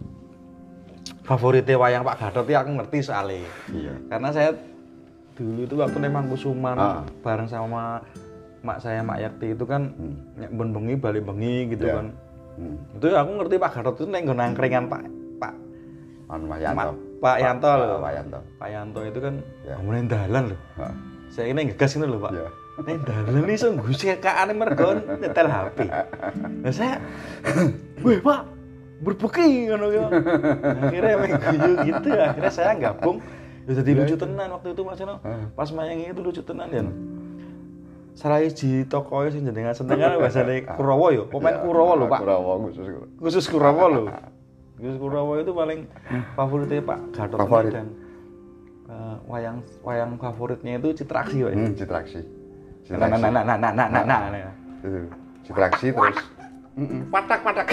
favoritnya wayang Pak Gatot itu aku ngerti soalnya. Iya. Karena saya dulu itu waktu memang Kusuman ah. bareng sama mak saya Mak Yakti itu kan hmm. ben bengi balik bengi gitu yeah. kan. Hmm. Itu aku ngerti Pak Gatot itu neng nangkringan Pak Pak Anu Pak Yanto. Pak Yanto loh. Pak Yanto. Pak Yanto itu kan yeah. ngomongin dalan loh. Ah. Saya ini ngegas ini loh Pak. Yeah. Nih dalan iki iso nggusekane mergo nyetel H P. Lah saya, "Weh, Pak, berbeki ngono ya." Akhirnya emang guyu gitu, akhirnya saya gabung. Ya jadi lucu tenan waktu itu Mas Eno. Pas mayang itu lucu tenan ya. Salah siji tokoe sing jenengan senengan bahasane Kurawa ya. Pemain Kurawa lho, Pak. Kurawa khusus. Khusus Kurawa lho. Khusus Kurawa itu paling favoritnya Pak Gatot dan uh, wayang wayang favoritnya itu Citraksi, Pak. Hmm, Citraksi. Nah, nah, nah, nah, nah, nah, nah, nah, nah. Citraksi terus patak-patak.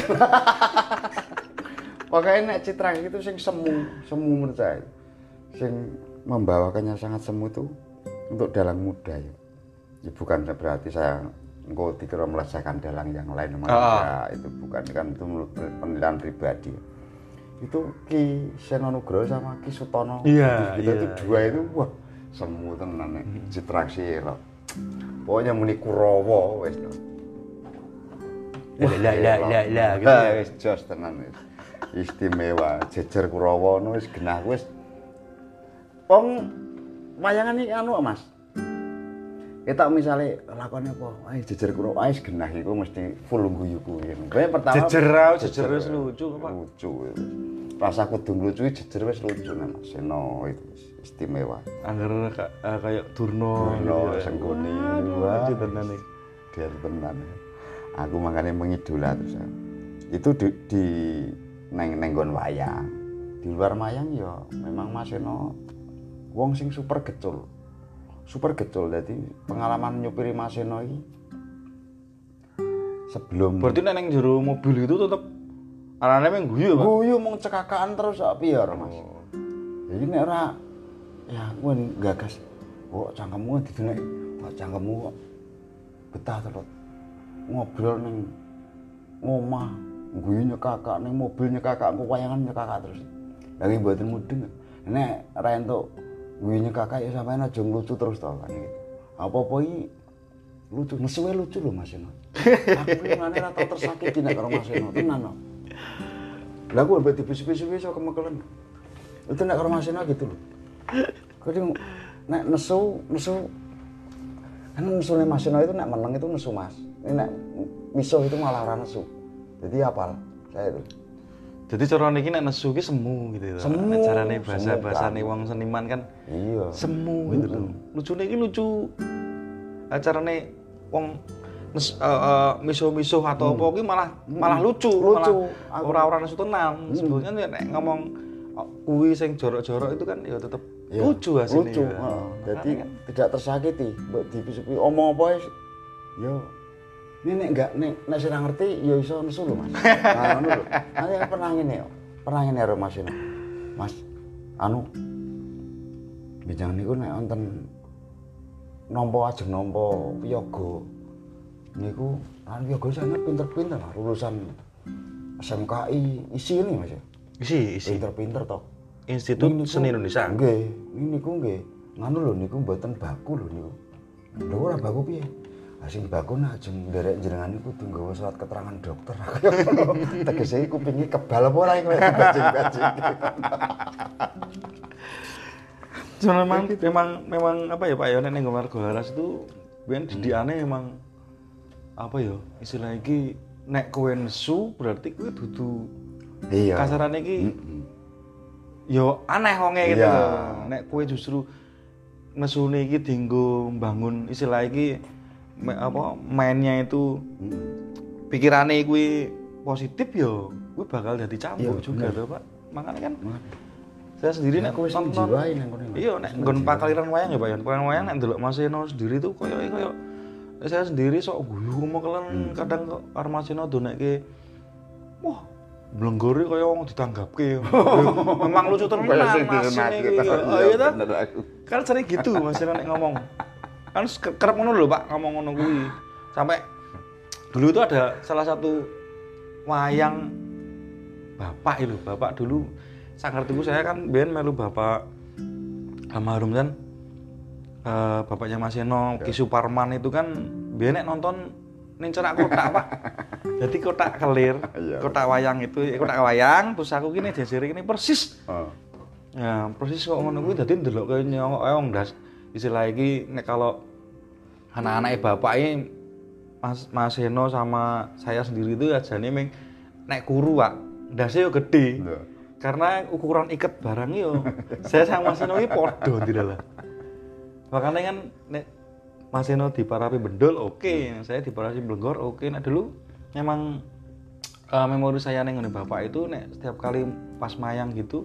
Pokoknya nek Citraksi itu sing semu, semu menurut saya. Sing membawakannya sangat semu itu untuk dalang muda ya. Ya bukan berarti saya engko dikira melecehkan dalang yang lain oh. ya, itu bukan kan itu menurut penilaian pribadi. Itu Ki Seno Nugroho sama Ki Sutono. Iya, itu, iya. itu dua itu wah semu tenan nek Citraksi lho. Pokoknya muni Kurawa wis to. Lah lah lah lah gitu. Wis jos tenan wis. Istimewa jejer Kurawa no wis genah wis wong wayangan iki anu Mas. Kita misalnya lakonnya apa, ayo jejer kuno, ayo genah iku mesti full guyu kuwi. Kowe pertama jejer jejer wis lucu Pak. Lucu. Rasa kudu lucu jejer wis lucu nek Mas Seno itu istimewa. Angger kayak Durno, Durno Senggoni, wah tenan iki. Dia tenan. Aku makanya mengidola terus. Itu di, di neng nenggon wayang. Di luar wayang ya memang Mas Seno wong sing super gecul. Super gecul, jadi pengalaman nyupiri Mas Seno iki sebelum berarti nek ning jero mobil itu tetep arane mung guyu Pak. Guyu mung cekakaan terus sak piyor Mas. Oh. Jadi nek ora ya kowe gagas kok cangkemmu didelek kok cangkemmu kok betah terus ngobrol ning ngomah guyu nyekakak ning mobil nyekakak engko wayangan nyekakak terus. Lagi mboten mudeng. Nek ra entuk guyu nyekakak ya sampean aja lucu terus to kan iki. Apa-apa iki lucu, mesuwe lucu lho Mas Seno. Aku iki ngene ra tau tersakiti nek karo Mas Seno tenan no. Lah aku mbek dibisi-bisi iso kemekelen. Itu nek karo Mas Seno gitu lho. Kadang nek nesu, nesu kan nesune Mas Seno itu nek meneng itu nesu Mas. Ini nek misuh itu malah ora nesu. Jadi apal saya itu. Jadi cara niki nek nesu ki semu gitu. Semu. Nek carane bahasa-bahasane wong seniman kan iya. Semu gitu lho. Lucune iki lucu. Acarane wong nes uh, uh, misuh-misuh atau hmm. apa ki malah hmm. malah lucu, lucu. Malah ora-ora nesu tenan. Hmm. Sebetulnya nek ngomong kuwi sing jorok-jorok itu kan ya tetep ya, lucu hasilnya. Lucu. Ya. Heeh. Jadi kan tidak tersakiti. Mbok dipisupi omong apa ya ini nek enggak nek nek sira ngerti ya iso nesu lho Mas. Nah ngono lho. Ana pernah ngene yo. Pernah ngene karo Mas Seno. Mas anu bijang niku nek wonten nampa ajeng nampa piyaga niku anu piyaga sangat pinter-pinter lulusan S M K I isi ini Mas. Isi isi. Pinter-pinter to. Institut Seni Indonesia. Nggih, niku nggih. Nganu lho niku mboten baku lho niku. Lho ora baku piye? Sing baku nak ajeng nderek jenengan niku kudu nggawa surat keterangan dokter. Tegese kupinge kebal apa ora iki bajing-bajing. Cuman memang memang memang apa ya Pak ya nek ning Margo Laras itu ben didikane memang apa ya istilah iki nek kowe nesu berarti kowe dudu iya. Kasarane iki mm-hmm. yo aneh wonge gitu. Iya. Nek kowe justru nesune iki dienggo mbangun istilah iki Me, apa mainnya itu hmm. pikirannya gue positif yo gue bakal jadi cambuk juga tuh Pak makanya kan hmm. saya sendiri nek nonton iya nek nggon pakaliran wayang ya Pak ya pakaliran wayang nek ndelok Mas Seno sendiri tuh koyo koyo saya sendiri sok guyu mekelen hmm. kadang kok karo Mas Seno donekke wah blenggore kaya wong ditanggapke memang lucu tenan Mas iki oh iya ta kan sering gitu Mas Seno nek ngomong kan kerep ngono lho Pak ngomong ngono kuwi sampai dulu itu ada salah satu wayang bapak itu bapak dulu sak ngertiku saya kan ben melu bapak almarhum kan uh, bapaknya Mas Seno Ki Suparman itu kan ben nek nonton ning cerak kotak Pak jadi kotak kelir kotak wayang itu kotak wayang terus aku gini jasire ini persis ya persis kok ngono kuwi dadi ndelok kaya nyongok ae wong ndas istilah iki nek kalau anak-anake bapak ini Mas Mas Seno sama saya sendiri itu ajane meng nek kuru Pak ndase yo gede yeah. Karena ukuran iket barang yo saya sama Mas Seno iki padha ndilah makanya kan nek Mas Seno diparapi bendol oke okay. Saya diparapi blenggor oke okay. Nek dulu memang uh, memori saya ning ngene bapak itu nek setiap kali pas mayang gitu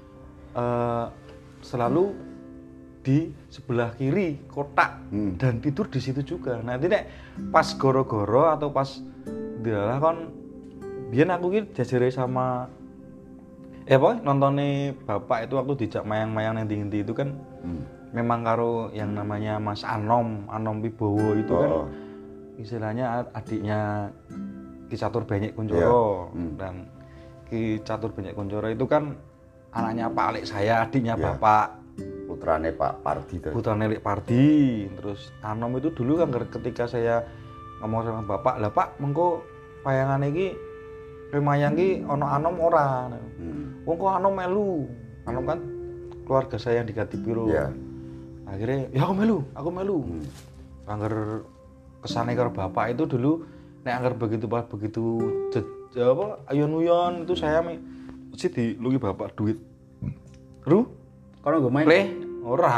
uh, selalu di sebelah kiri kotak hmm. dan tidur di situ juga. Nanti nek pas goro-goro atau pas dialah kan biyen aku ki jajare sama eh apa nontonnya bapak itu waktu dijak mayang-mayang yang tinggi itu kan hmm. memang karo yang namanya Mas Anom Anom Wibowo itu oh. kan istilahnya adiknya Ki Catur Benyek Kuncoro yeah. hmm. dan Ki Catur Benyek Kuncoro itu kan anaknya Pak Alik saya adiknya yeah. bapak putrane Pak Pardi tuh. Putrane Lik Pardi. Terus Anom itu dulu kan ketika saya ngomong sama bapak, "Lah Pak, mengko wayangane iki remayang iki ana Anom ora?" Hmm. Wong kok Anom melu. Anom kan keluarga saya yang diganti piro. Iya. Akhirnya ya aku melu, aku melu. Hmm. Angger kesane karo bapak itu dulu nek angger begitu pas begitu je, je, apa ayon-uyon itu saya mesti diluki bapak duit. Ru, Kono nggo main. Le, ora.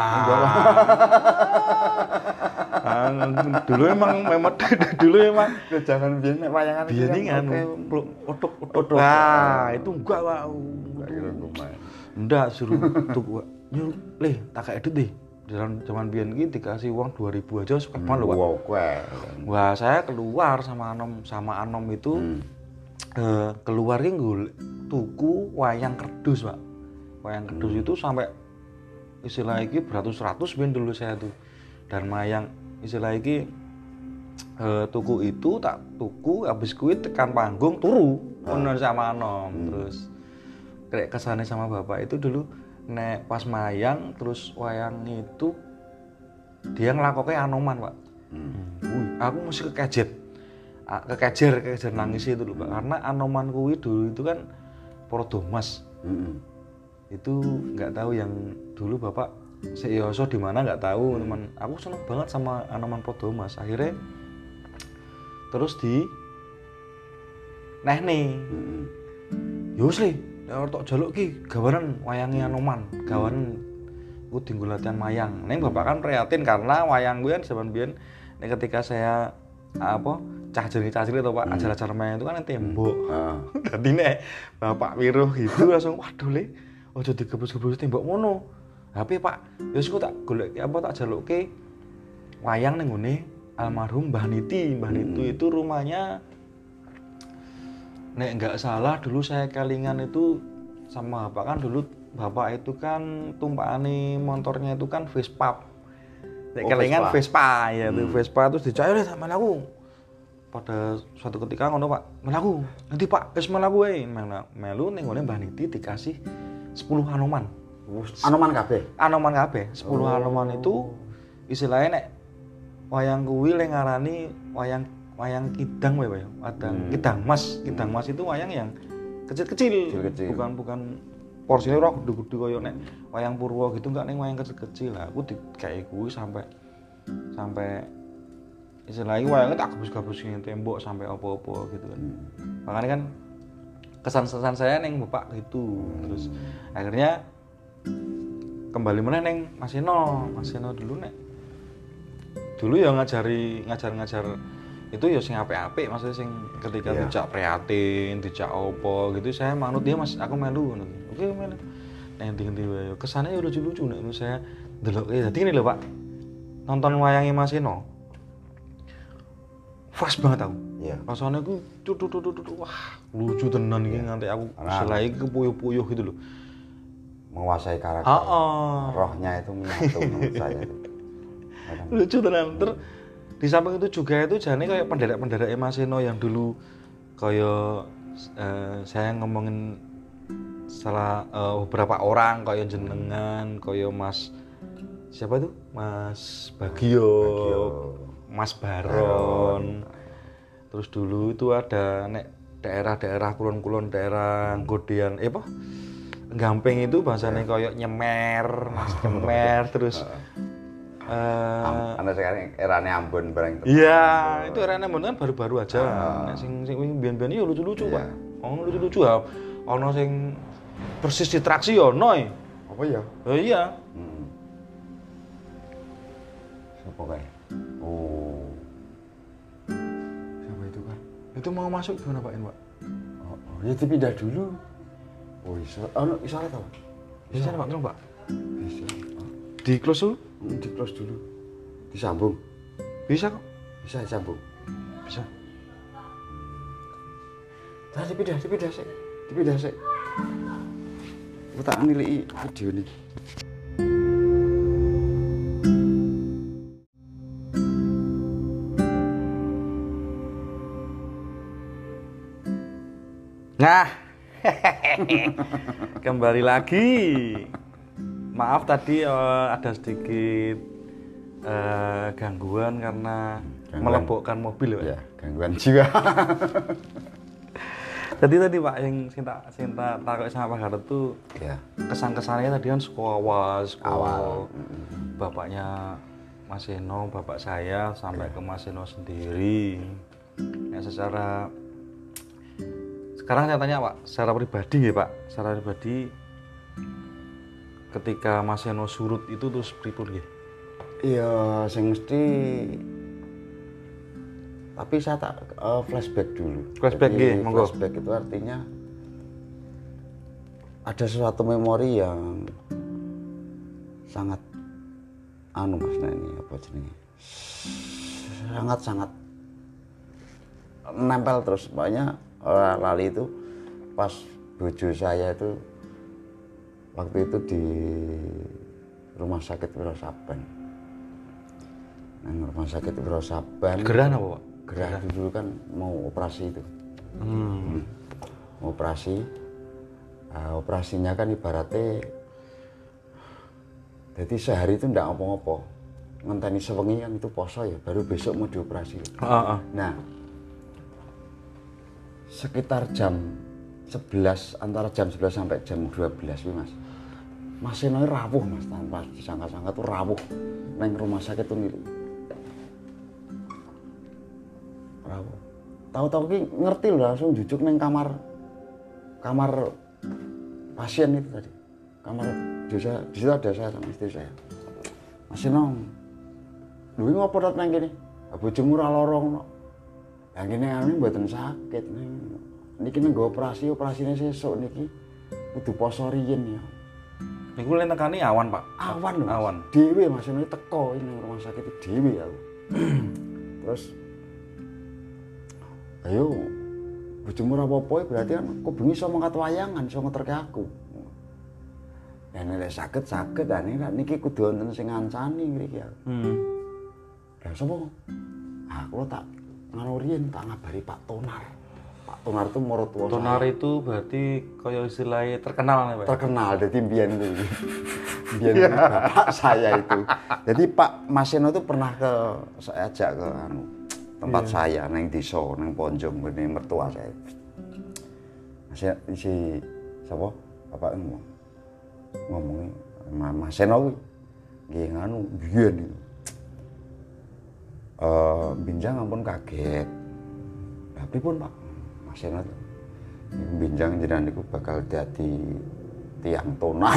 Dulu emang memang dulu emang Jangan biyen nek wayangan biyen kan otok-otok. Nah, itu enggak, Pak. Enggak suruh tuh nyuruh, "Le, tak kayak edit deh." Dalam zaman biyen iki dikasih uang dua ribu aja suka banget loh, Pak. Wow, kowe. Wah, saya keluar sama Anom sama Anom itu hmm. eh, keluar ki tuku wayang kerdus, Pak. Wayang kerdus hmm. itu sampai istilah iki beratus-ratus ben dulu saya tuh. Dan wayang istilah iki eh, tuku itu tak tuku habis kuwi tekan panggung turu ngono sama Anom. Hmm. Terus kayak kesane sama bapak itu dulu nek pas mayang terus wayang itu dia ngelakoknya Anoman, Pak. Hmm. Wih, aku mesti kekejet. Kekejer, kekejer nangis itu loh, Pak. Karena Anoman kuwi dulu itu kan Prodomas. Hmm. Itu nggak tahu yang dulu Bapak Seyoso di mana nggak tahu, hmm. teman. Aku seneng banget sama Anoman Prodomas. Akhirnya terus di Neh nih. Hmm. Yus li, nek tok jaluk ki gawanan wayange Anoman, gawanan ku tinggal latihan mayang. Neng bapak kan prihatin karena wayang gue kan zaman biyen nek ketika saya apa cah jeli-cah jeli atau Pak hmm. ajar-ajar mayang itu kan tembok. Heeh. Hmm. Dadi nek bapak wiruh gitu langsung waduh le, ojo digebus-gebus tembok ngono. Tapi Pak, ya tak golek apa tak jalukke wayang ning ngene almarhum Mbah Niti. Mbah hmm. Niti itu rumahnya nek enggak salah dulu saya kelingan itu sama bapak kan dulu bapak itu kan tumpakane motornya itu kan Vespa. Nek oh, kelingan Vespa, Vespa ya hmm. tuh Vespa terus dicak oleh sama aku. Pada suatu ketika ngono Pak, melaku. Nanti Pak, wis melaku wae. Melu ning ngene Mbah Niti dikasih sepuluh Anoman. Anoman kabeh. Anoman kabeh. sepuluh oh. Anoman itu istilahnya nek wayang kuwi le ngarani wayang wayang kidang wae, Pak. Wadang hmm. kidang mas, kidang mas itu wayang yang kecil-kecil. Kecil-kecil. Bukan bukan porsinya ora gede-gede koyo nek wayang Purwo gitu enggak ning wayang kecil-kecil lah. Aku dikei kuwi sampai sampai istilahnya wayangnya tak gabus-gabusin tembok sampai apa-apa gitu kan. Hmm. Makanya kan kesan-kesan saya ning bapak gitu. Terus akhirnya kembali meneh ning Mas Eno. Mas Eno dulu nek dulu ya ngajari ngajar-ngajar itu ya sing apik-apik, maksudnya sing ketika yeah. dijak prihatin, dijak opo gitu saya manut dia Mas, aku melu ngono. Oke melu. Nek endi-endi wae. Kesane ya lucu-lucu nek saya ndeloke. Dadi ngene lho Pak. Nonton wayange Mas Eno. Pas banget aku. Iya. Rasane ku tutut-tutut wah, lucu tenan iki nganti aku selai kepuyuh-puyuh gitu loh. Menguasai karakter. Heeh. Rohnya itu menyatu menurut saya itu. Lucu tenan. Terus di samping itu juga itu jane kayak penderek-penderek Mas Eno yang dulu kayak eh, saya ngomongin salah eh, beberapa orang kayak jenengan, kayak Mas siapa tuh? Mas Bagio, Bagio. Mas Baron. Terus dulu itu ada nek daerah-daerah kulon-kulon daerah Godian eh apa? Gamping itu bahasanya kayak nyemer, Mas nyemer terus Uh, Anda sekarang eranya Ambon bareng itu. Iya, itu eranya Ambon kan baru-baru aja. Uh, sing sing biyen-biyen yo lucu-lucu, Pak. Yeah. Ono lucu-lucu ya. Ono sing persis ditraksi yo ono. Apa ya? Oh iya. Hmm. Siapa kae? Oh. Siapa itu, Pak? Itu mau masuk gimana, Pak? Pak? Oh, oh, ya dipindah dulu. Oh, iso. Ono iso ta, Pak? Bisa, Pak, tolong, Pak. Bisa. Di close dulu? Hmm, di close dulu. Disambung. Bisa kok? Bisa disambung. Bisa. Nah, dipindah, dipindah sih. Dipindah sih. Aku tak nilai video ini. Nah. Kembali lagi. Maaf tadi uh, ada sedikit uh, gangguan karena gangguan. Melebokkan mobil ya, gangguan jiwa. Jadi tadi Pak yang cinta cinta takut sama Pak Garut tuh Ya. kesan-kesannya tadi kan sekolah awal, sekolah Awal. bapaknya Mas Eno, bapak saya sampai ke Mas Eno sendiri. Ya secara sekarang saya tanya Pak, secara pribadi ya Pak, secara pribadi ketika Mas Eno surut itu terus pripun nggih? Iya, sing mesti tapi saya tak uh, flashback dulu. Flashback Jadi, nggih, monggo. Flashback itu artinya ada sesuatu memori yang sangat anu Mas nah ini apa jenenge? Sangat sangat nempel terus. Makanya uh, lali itu pas bojo saya itu waktu itu di rumah sakit Wiro Saban. Nah, rumah sakit Wiro Saban. Gerah apa Pak? Gerah itu dulu kan mau operasi itu. Hmm. Mau operasi. Uh, operasinya kan ibaratnya jadi sehari itu ndak ngopo-ngopo. Ngenteni sewengi kan itu poso ya, baru besok mau dioperasi. Ah, ah. Nah, sekitar jam sebelas, antara jam sebelas sampai jam dua belas nih Mas. Mas Eno rawuh Mas, tanpa disangka-sangka tuh rawuh neng rumah sakit tuh nih. Rawuh. Tahu-tahu ki ngerti loh langsung jujuk neng kamar kamar pasien itu tadi. Kamar di saya, di situ ada saya sama istri saya. Mas Eno, lu ngopo dat neng gini? Bojomu ora lorong no. Yang gini anu mboten sakit neng. Niki neng go operasi, operasine sesuk niki kudu poso riyin ya. Niku lek nekani awan, Pak. Awan lho. Awan. Dhewe Mas Eno teko ini rumah sakit dhewe aku. Terus ayo bojomu ora apa-apa berarti kan kok bengi iso mangkat wayangan, iso ngeterke aku. Dan nek sakit-sakit dan niki kudu wonten sing ngancani ngriki aku. Hmm. Lah sapa? Aku tak ngono riyen tak ngabari Pak Tonar. Pak Tonar itu mertua saya. Tonar itu berarti kaya istilahnya terkenal nih, Pak. Terkenal dadi mbiyen itu. Mbiyen bapak saya itu. Jadi Pak Mas Eno itu pernah ke saya ajak ke anu tempat yeah. saya neng desa neng Ponjong ngene mertua saya. Mas si sapa? Bapak ngomong. Ngomongin Mas Eno kuwi nggih nganu biyen iki. Eh binjang ampun kaget. Lah pripun Pak? Mas Eno binjang jenengan niku bakal dadi tiang tonar.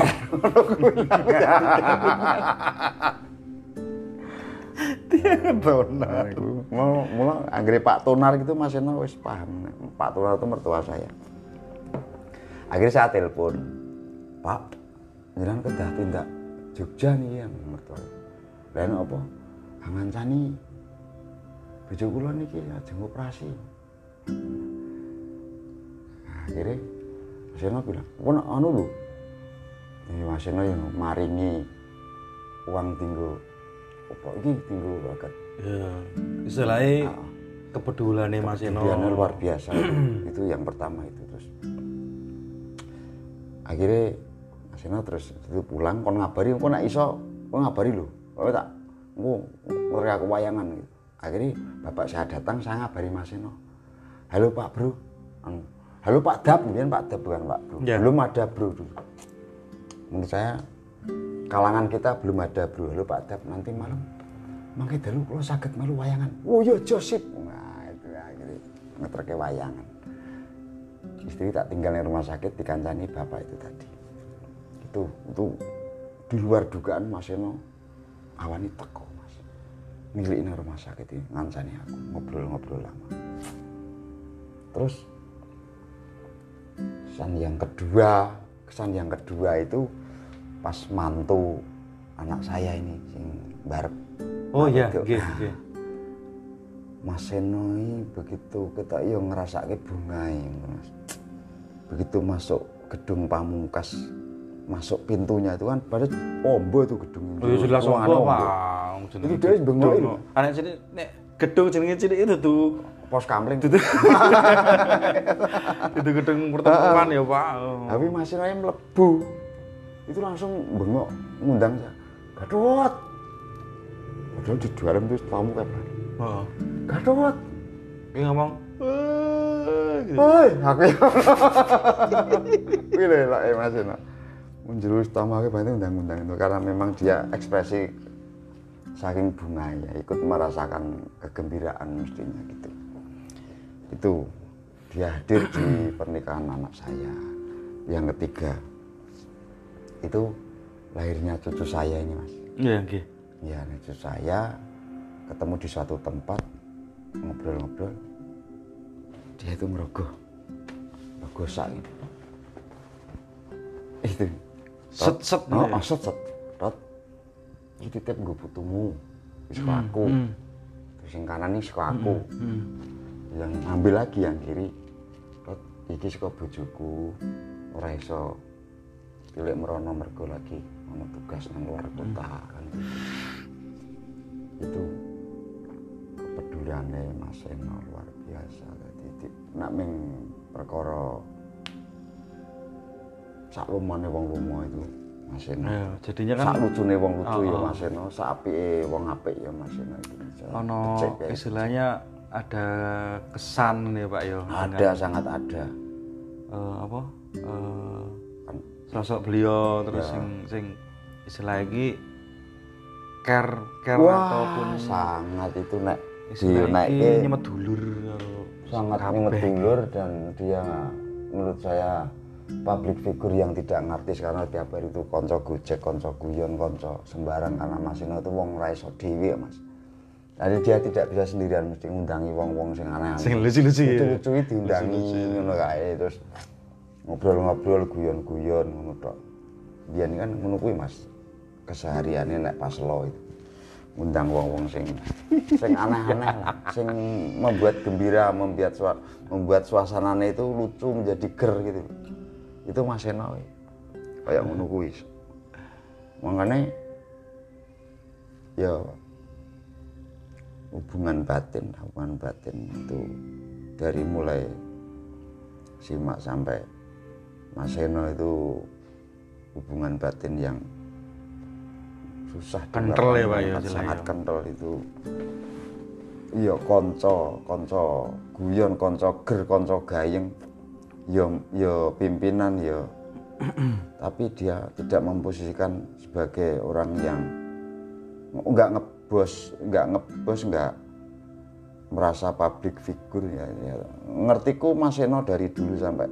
Tiang tonar. Mau mula anggere Pak Tonar gitu Mas Eno wis paham. Pak Tonar itu mertua saya. Akhirnya saya telepon, Pak, jenengan kedah tindak Jogja nih yang mertua. Lah apa? Ngancani bojo kula niki ajeng operasi. Akhirnya Mas Eno bilang, "Pun anu lho." Ini Mas Eno yang maringi uang tinggal apa iki tinggal bakat. Ya, istilahnya nah, kepeduliannya Mas Eno. Kepeduliannya luar biasa. Itu yang pertama itu terus. Akhirnya Mas Eno terus itu pulang kon ngabari kok nek iso kon ngabari lho. Kok tak engko ngurek aku wayangan gitu. Akhirnya bapak saya datang saya ngabari Mas Eno. Halo Pak Bro. Anu halo Pak Dap, kemudian Pak Dap bukan Pak Bro. Ya. Belum ada Bro dulu. Menurut saya kalangan kita belum ada Bro. Halo Pak Dap, nanti malam mangke dalu kula saged melu wayangan. Oh iya Josip. Nah, itu akhirnya ngeterke wayangan. Istri tak tinggal di rumah sakit dikancani bapak itu tadi. Itu itu di luar dugaan Mas Eno awani teko Mas. Milik rumah sakit ini ngancani aku ngobrol-ngobrol lama. Terus kesan yang kedua, kesan yang kedua itu pas mantu anak saya ini sing barep. Oh iya, nggih, nggih. Mas Eno ini begitu kita yo ngrasake bungae, Mas. Begitu masuk gedung Pamungkas, masuk pintunya itu kan pada ombo itu gedung. Oh iya jelas ombo, Pak. Iki dhewe bengok lho. Anak cilik nek gedung jenenge cilik itu tuh pos kamling. Itu itu gedung pertemuan ya Pak. Tapi Mas Eno mlebu. Itu langsung bengok ngundang saya. Gadot. Padahal di dalam itu tamu kayak mana? Heeh. Gadot. Dia ngomong, gitu. Woi, aku ya. Kuwi lho lek Mas Eno. Menjurus tamake banget undang-undang itu karena memang dia ekspresi saking bunganya ikut merasakan kegembiraan mestinya gitu. Itu dia hadir di pernikahan anak saya yang ketiga. Itu lahirnya cucu saya ini, Mas. Iya, nggih. Ya, cucu saya ketemu di suatu tempat ngobrol-ngobrol. Dia itu ngerogoh. Rogoh sak gitu. Itu Set set. Oh, oh, set set. Rot. Iki titip nggo putumu. Wis kok aku. Hmm. Terus sing kanan iki saka aku. Hmm. Yang ambil lagi yang kiri. Rot, iki saka bojoku. Ora iso pilih merono mergo lagi ono tugas nang luar kota kan. Itu kepeduliane Mas Eno luar biasa. Dadi nek ming perkara sak lumane wong lumo itu Mas Eno. Ya, jadinya kan sak lucune wong lucu oh, ya oh. Mas Eno, sak apike wong apik ya Mas Eno itu bisa. ono Cek, ya. istilahnya ada kesan nih Pak yo. Ada dengan, sangat ada. eh, apa? Eh, Kan sosok beliau terus Ya. sing sing istilah iki care care wah, ataupun sangat itu nek istilah iki dinaike nyemet dulur karo sangat kabeh. nyemet dulur dan dia menurut saya public figure yang tidak ngartis karena tiap hari itu konco gojek, konco guyon, konco sembarang karena Mas Eno itu wong ra iso dhewe Mas. Jadi dia tidak bisa sendirian mesti ngundangi wong-wong sing aneh-aneh. Sing lucu-lucu ya. Lucu-lucu iki diundangi ngono kae terus ngobrol-ngobrol guyon-guyon ngono tok. Biyen kan ngono kuwi Mas. Kesehariannya nek pas lo itu ngundang wong-wong sing sing aneh-aneh lah, sing membuat gembira, membuat sua, membuat suasananya itu lucu menjadi ger gitu. Itu Mas Eno kayak ngono kuwi. Makanya ya hubungan batin, hubungan batin itu dari mulai simak sampai Mas Eno itu hubungan batin yang susah Kental ya Pak ya, sangat ya. kental itu. Iya konco, konco guyon, konco ger, konco gayeng. Ya ya pimpinan ya. Tapi dia tidak memposisikan sebagai orang yang enggak ngebos, enggak ngebos, enggak merasa public figure ya, ya. Ngertiku Mas Eno dari dulu sampai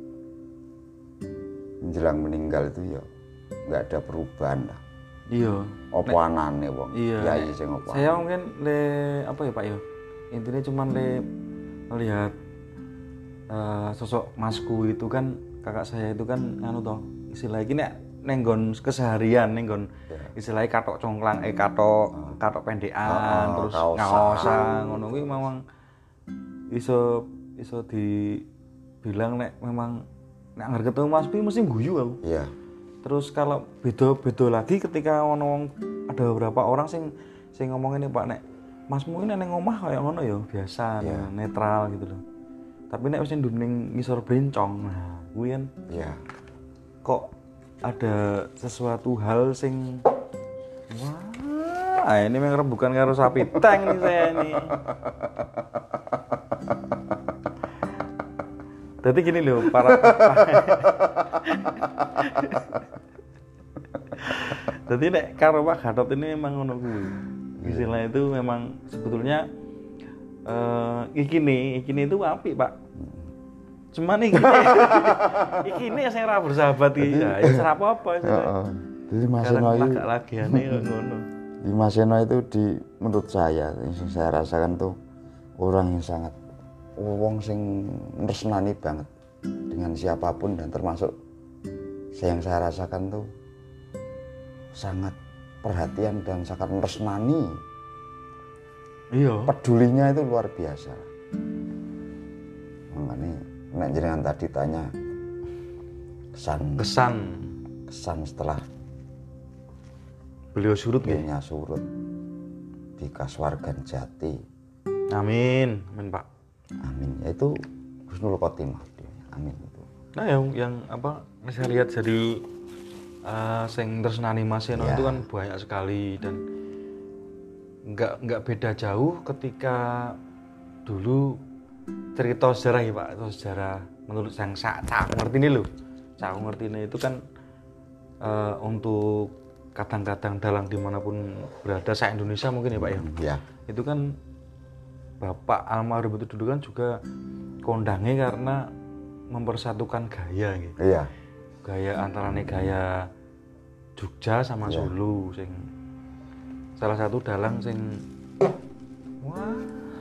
menjelang meninggal itu ya enggak ada perubahan lah. Iya. Apa anane wong? Iya. Kiai sing apa? Saya mungkin le apa ya Pak yo. Intinya cuman le melihat uh, sosok masku itu kan kakak saya itu kan anu toh istilah iki nek nenggon keseharian nenggon Ya. istilahnya katok congklang eh katok katok pendekan Oh, terus kaosan. ngaosan ngono kuwi memang iso iso dibilang nek memang nek anggere ketemu Mas Pi mesti guyu aku. Iya. Terus kalau beda-beda lagi ketika ono ada beberapa orang sing sing ngomongin nih Pak nek Masmu ini neng omah kayak ngono ya biasa Iya. netral gitu loh. Tapi nek wis ndung ngisor bencong nah kuwi kan Iya. kok ada sesuatu hal sing wah ini memang bukan karo sapi tank nih saya ini. Jadi gini loh para jadi nek karo Pak Gatot ini memang ngono kuwi. Istilah itu memang sebetulnya eh iki nih, iki nih itu apik, Pak. Cuman iki iki ini saya ora bersahabat iki. Ya wis ora apa-apa wis. Heeh. Jadi Mas Eno itu agak lagiane kok ngono. di Mas Eno itu di menurut saya yang saya rasakan tuh orang yang sangat wong sing nresnani banget dengan siapapun dan termasuk saya yang saya rasakan tuh sangat perhatian dan sangat nresnani. Iya. Pedulinya itu luar biasa. Makanya nek jenengan tadi tanya kesan Kesan kesan setelah beliau surut nggih. beliaunya surut di Kasuwargan Jati. Amin, amin Pak. Amin. Itu Husnul Khotimah. Amin itu. Nah yang yang apa saya lihat dari uh, sing tresnani Mas Eno Ya. itu kan banyak sekali dan nggak nggak beda jauh ketika dulu cerita sejarah ya Pak, itu sejarah menurut yang saya aku ngerti ini loh. Saya aku ngerti ini itu kan uh, untuk kadang-kadang dalang dimanapun berada se Indonesia mungkin ya Pak ya. Ya. Itu kan Bapak almarhum itu dulu kan juga kondangnya karena mempersatukan gaya gitu. Iya. Gaya antarane gaya Jogja sama Iya. Solo sing salah satu dalang sing wah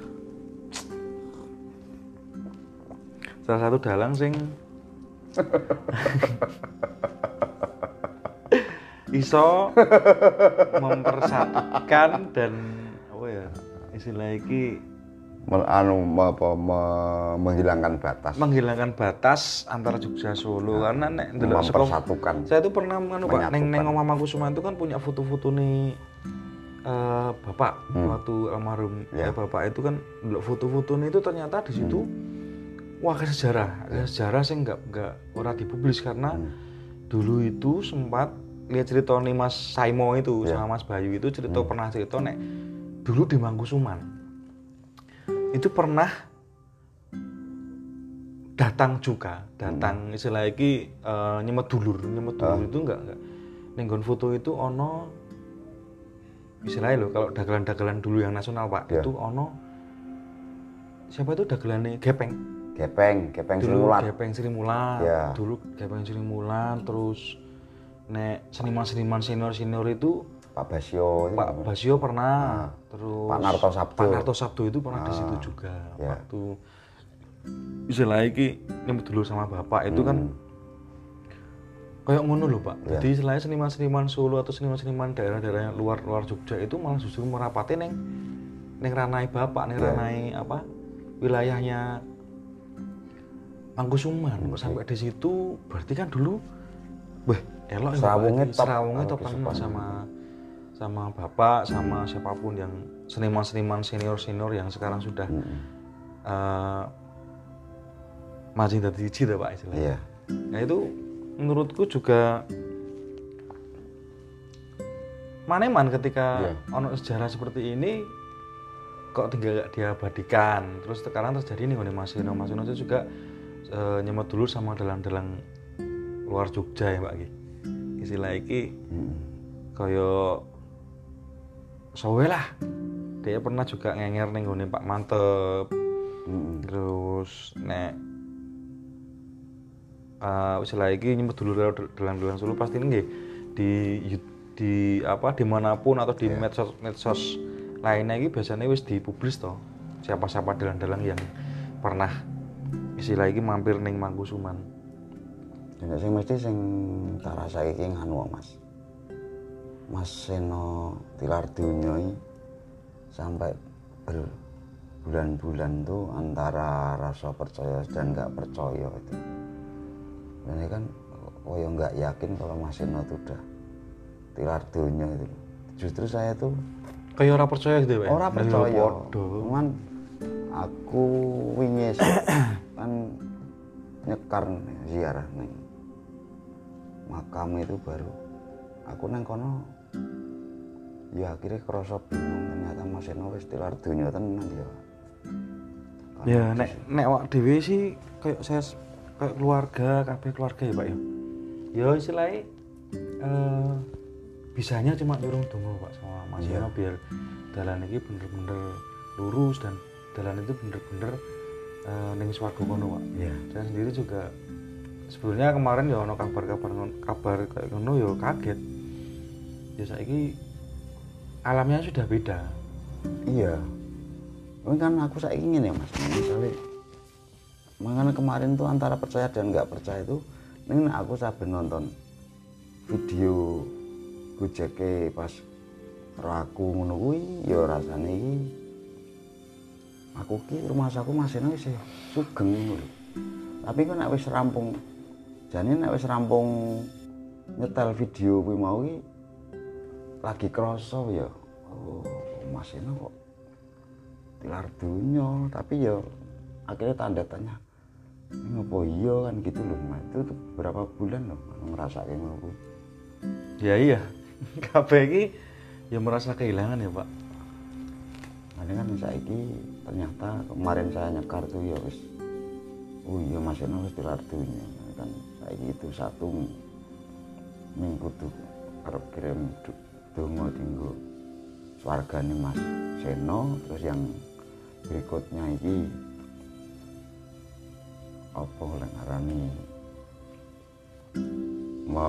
salah satu dalang sing iso mempersatukan dan apa ya istilah iki anu apa me- menghilangkan batas menghilangkan batas antara Jogja Solo nah, karena nek ndelok saka mempersatukan. saya itu pernah anu Pak neng neng Menyatukan. Omah Mangkusuman itu kan punya foto-foto nih uh, Bapak Hmm. waktu almarhum Ya. ya Bapak itu kan ndelok foto-fotonya itu ternyata di situ Hmm. wah ke sejarah ke sejarah sih nggak nggak ora dipublis karena Hmm. dulu itu sempat lihat cerita nih Mas Saimo itu Ya. sama Mas Bayu itu cerita Hmm. pernah cerita nek dulu di Mangkusuman itu pernah datang juga datang Hmm. istilah iki uh, nyemet dulur nyemet dulur Ah. itu enggak enggak nenggon foto itu ono istilahnya loh kalau dagelan-dagelan dulu yang nasional Pak Ya. itu ono siapa itu dagelannya Gepeng Gepeng, Gepeng dulu Srimulat. Gepeng Sri Mulat Ya. dulu Gepeng Sri Mulat terus nek seniman-seniman senior-senior itu Pak Basio itu. Pak Basio pernah Ah. terus Pak Narto Sabdo. Pak Narto Sabdo itu pernah di Ah. situ juga Ya. waktu istilah iki nyebut dulu sama Bapak itu kan Hmm. kayak ngono loh Pak. Ya. Jadi istilahnya seniman-seniman Solo atau seniman-seniman daerah-daerah yang luar luar Jogja itu malah justru merapati neng neng ranai Bapak, neng Ya. ranai apa wilayahnya Mangkusuman. Kok sampai di situ berarti kan dulu wah elok ya Pak. Serawungnya top. Serawungnya Kalau top Kesupan. banget sama sama Bapak sama siapapun yang seniman-seniman senior-senior yang sekarang sudah Hmm. uh, masih dari cita Pak istilahnya. Iya. Nah itu menurutku juga maneman ketika Iya. ono sejarah seperti ini kok tinggal gak diabadikan. Terus sekarang terjadi nih Mas Ino, Mas Ino itu juga e, nyemet dulu sama dalang-dalang luar Jogja ya Pak Ki. Istilah iki Hmm. kaya sowe lah. Dia pernah juga ngenger ning nggone Pak Mantep. Hmm. Terus nek uh, istilah iki nyebut dulu dalang-dalang Solo pasti nggih di di apa dimanapun atau di Yeah. medsos medsos lainnya iki biasanya wis dipublis toh siapa-siapa dalang-dalang yang pernah istilah iki mampir ning Mangkusuman. Nek sing mesti sing tak rasake iki nganu Mas. Mas Seno tilar donya iki sampai berbulan-bulan tuh antara rasa percaya dan nggak percaya itu. Dan ini kan oh ya nggak yakin kalau Mas Seno tuh udah tilar donya itu. Justru saya tuh Kayak ora percaya gitu ya. ora Nah, percaya. padha. Cuman aku wingi sih, kan nyekar nih, ziarah nih makam itu baru aku nang kono ya akhirnya kerasa bingung ternyata Mas Eno wis tilar donya tenan ya. Ya nek nek wak dhewe sih kayak saya kayak keluarga, kabeh keluarga ya Pak ya. Ya istilahnya eh bisanya cuma nyuruh dongo Pak sama Mas Iya. Eno biar dalan iki bener-bener lurus dan dalan itu bener-bener eh ning swarga kono Pak. Iya. Saya sendiri juga sebelumnya kemarin ya ono kabar-kabar kabar kayak ngono ya kaget. Ya saiki alamnya sudah beda. Iya. Ini kan aku saiki ngene ya Mas, misalnya makanya kemarin tuh antara percaya dan nggak percaya itu ini aku saben nonton video gojeke pas karo aku ngono kuwi ya rasane iki aku ki rumah saku masih wis sugeng ngono lho. Tapi kok nek wis rampung jane nek wis rampung nyetel video kuwi mau ki lagi krasa ya oh Mas Eno kok tilar dunya tapi ya akhirnya tanda tanya ini apa iya kan gitu loh Mas. Itu tuh berapa bulan loh ngerasake ngono kuwi. Ya iya. Kabeh iki ya merasa kehilangan ya Pak. Ini kan saiki ternyata kemarin saya nyekar tuh ya wis oh iya Mas Seno wis tilar dunya kan saiki itu satu minggu tuh arep kirim donga dinggo swargane Mas Seno. Terus yang berikutnya iki apa lek ngarani me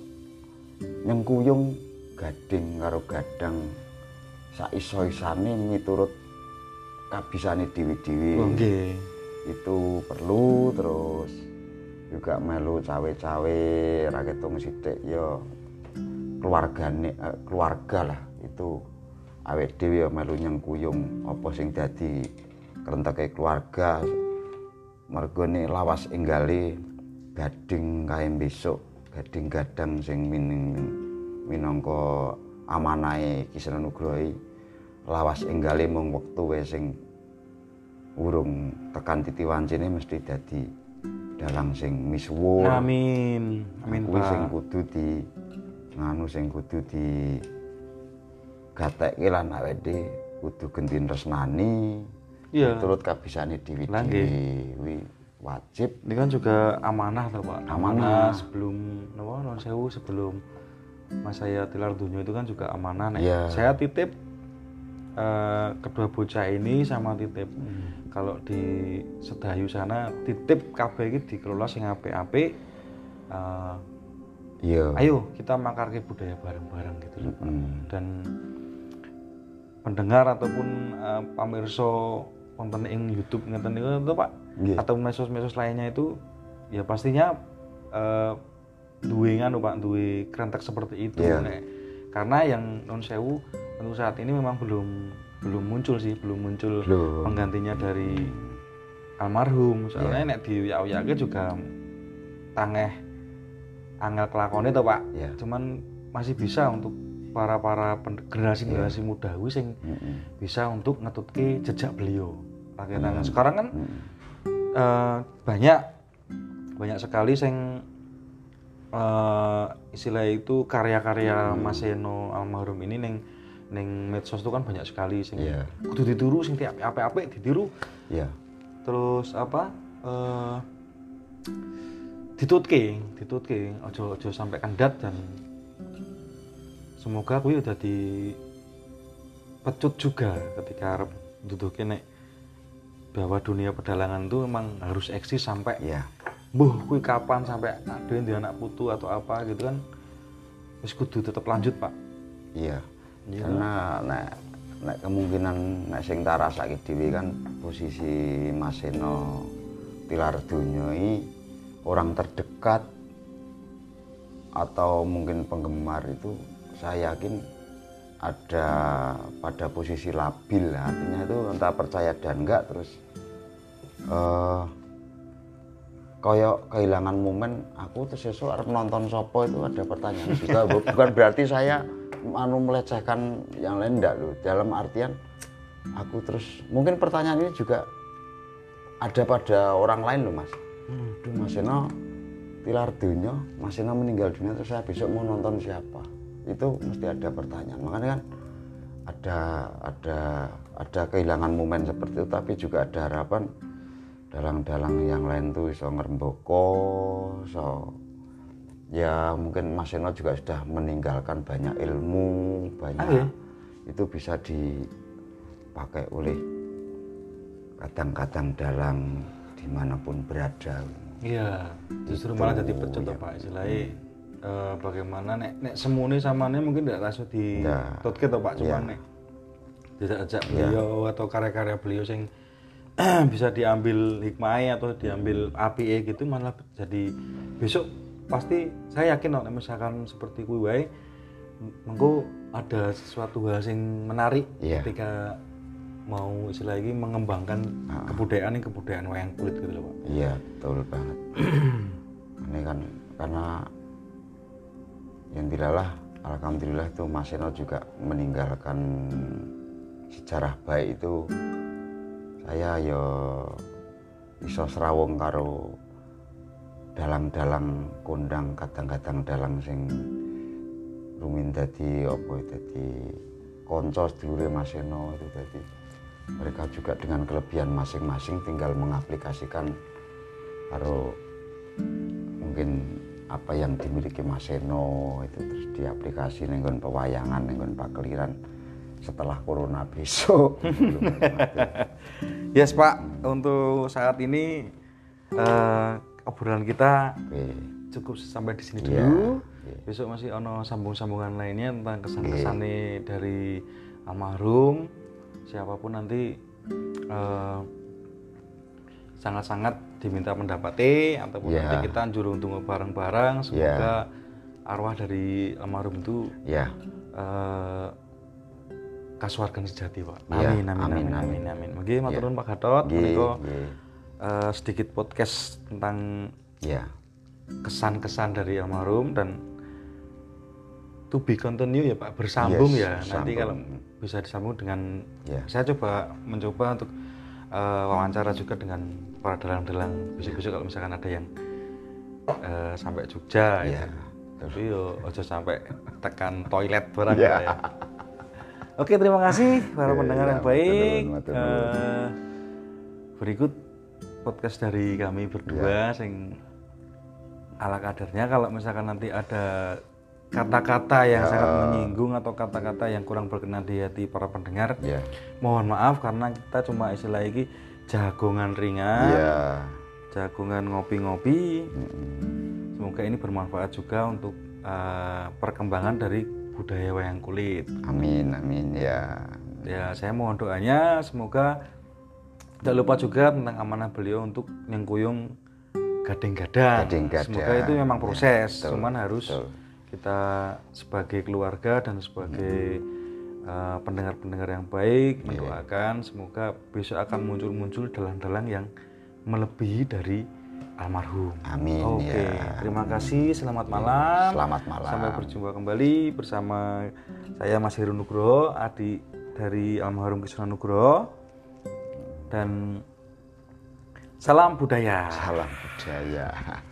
nyengkuyung gading karo gadang saiso-isane miturut kabisane dhewe-dhewe. Oh, nggih. Itu perlu. Terus juga melu cawe-cawe ra ketung sithik ya keluargane eh, keluarga lah itu awake dhewe ya melu nyengkuyung apa sing dadi krenteke keluarga. Mergone lawas enggale gading kae besok gading gadang sing mining minangka amanahe Ki Seno Nugroho lawas enggale mung wektu wae sing urung tekan titi wancine mesti dadi dalang sing misuwur. Amin. Amin kuwi Pak. sing kudu di nganu sing kudu di gatekke lan awake kudu gendin resnani. Iya. Turut kabisane dhewe-dhewe Lah, nggih. kuwi wajib. Ini kan juga amanah toh Pak. Amanah. sebelum napa non sewu sebelum Mas saya tilar dunia itu kan juga amanah nek. Iya. Saya titip eh, kedua bocah ini sama titip kalau di Sedayu sana titip kabeh iki dikelola sing apik-apik. Eh, Iya. ayo kita makarke budaya bareng-bareng gitu loh Pak. Mm. Dan pendengar ataupun eh, pamirsa konten ing YouTube ngeten niku to Pak. Nggih. Atau mesos-mesos lainnya itu ya pastinya eh, duwe nganu Pak, duwe krentek seperti itu. Iya. Nek. Karena yang non sewu untuk saat ini memang belum belum muncul sih, belum muncul Belum. penggantinya dari almarhum. Soalnya Iya. nek diuyak-uyake juga tangeh angel kelakone to Pak. Iya. Cuman masih bisa untuk para-para pen- generasi-generasi Iya. muda kuwi sing Mm-mm. bisa untuk ngetutke jejak beliau. Akhirnya Hmm. sekarang kan Mm. eh, banyak banyak sekali sing eh, istilah itu karya-karya Mas Seno almarhum ini neng neng medsos itu kan banyak sekali sing Iya. kudu ditiru sing apik-apik ditiru. Iya. Terus apa eh ditutke, ditutke ojo ojo sampai kandat. Dan semoga kuwi udah di pecut juga ketika arep duduke nek bahwa dunia pedalangan itu memang harus eksis sampai Iya. mbuh kuwi kapan sampai ada yang di anak putu atau apa gitu kan wis kudu tetap lanjut Pak. Iya. Iya. Karena nek nek kemungkinan nek sing tak rasake dhewe kan posisi Mas Seno tilar donya iki orang terdekat atau mungkin penggemar itu saya yakin ada pada posisi labil, artinya itu entah percaya dan enggak. Terus eh koyok kehilangan momen aku terus esok harus nonton sopo itu ada pertanyaan juga. Bukan berarti saya anu melecehkan yang lain enggak loh, dalam artian aku terus mungkin pertanyaan ini juga ada pada orang lain loh Mas. Duh Mas Seno tilar dunia, Mas Seno meninggal dunia terus saya besok mau nonton siapa? Itu mesti ada pertanyaan. Makanya kan ada ada ada kehilangan momen seperti itu, tapi juga ada harapan dalang-dalang yang lain tuh iso ngrembaka, so ya mungkin Mas Seno juga sudah meninggalkan banyak ilmu, banyak Ah, iya? itu bisa dipakai oleh kadang-kadang dalang dimanapun berada. Iya, justru Itu, malah jadi pecut ya. Pak istilahnya eh, bagaimana nek nek semune samane mungkin tidak langsung di Ya. tutke to Pak, cuma Ya. nek tidak ajak Ya. beliau atau karya-karya beliau sing bisa diambil hikmahnya atau diambil apike gitu malah jadi besok pasti saya yakin nek misalkan seperti kuwi wae mengko ada sesuatu hal sing menarik Ya. ketika mau istilah lagi mengembangkan Ah. kebudayaan ini kebudayaan wayang kulit gitu loh Pak. Iya, betul banget. Ini kan karena yang dilalah alhamdulillah tuh Mas Seno juga meninggalkan sejarah baik itu. Saya ya iso srawung karo dalang-dalang kondang, kadang-kadang dalang sing rumin dadi apa dadi kanca sedulure Mas Seno itu dadi mereka juga dengan kelebihan masing-masing tinggal mengaplikasikan karo mungkin apa yang dimiliki Mas Seno itu terus diaplikasi nenggon pewayangan, nenggon pakeliran setelah corona besok. Yes Pak, untuk saat ini uh, obrolan kita Oke. cukup sampai di sini Iya, dulu. iya. Besok masih ono sambung-sambungan lainnya tentang kesan-kesannya dari almarhum. Siapapun nanti uh, sangat-sangat diminta pendapatnya ataupun Yeah. nanti kita jurung tunggu bareng-bareng. Semoga arwah dari almarhum itu Ya, uh, kasuwargan sejati Pak. Yeah. Amin, amin, amin, Amin, amin, amin. Mungkin matur nuwun Pak Gatot. Nggih, Menika nggih. uh, sedikit podcast tentang Ya. kesan-kesan dari almarhum dan to be continue ya Pak, bersambung Yes, ya. Nanti bersambung. kalau bisa disambung dengan Ya. saya coba mencoba untuk uh, wawancara juga dengan para dalang-dalang. Besok-besok kalau misalkan ada yang uh, sampai Jogja ya. Ya. Tapi yo ojo sampai tekan toilet barang Ya. ya. Oke, terima kasih para Ya, pendengar ya, yang baik. matur nuwun, matur nuwun. Uh, berikut podcast dari kami berdua sing ala kadarnya. Kalau misalkan nanti ada kata-kata yang Ya. sangat menyinggung atau kata-kata yang kurang berkenan di hati para pendengar, Ya. mohon maaf karena kita cuma istilah iki jagongan ringan, Ya. jagongan ngopi-ngopi. Mm-mm. Semoga ini bermanfaat juga untuk uh, perkembangan dari budaya wayang kulit. Amin, amin ya. Ya, saya mohon doanya semoga tidak lupa juga tentang amanah beliau untuk nyengkuyung gading-gadang. Gading-gadang. Semoga itu memang proses, Ya, betul, cuman harus betul. kita sebagai keluarga dan sebagai uh, pendengar-pendengar yang baik mendoakan semoga besok akan muncul-muncul dalang-dalang yang melebihi dari almarhum. Amin, Oke, ya. terima kasih. Selamat malam. Selamat malam. Sampai berjumpa kembali bersama saya Mas Heru Nugroho, adik dari almarhum Kisuna Nugroho. Dan salam budaya. Salam budaya.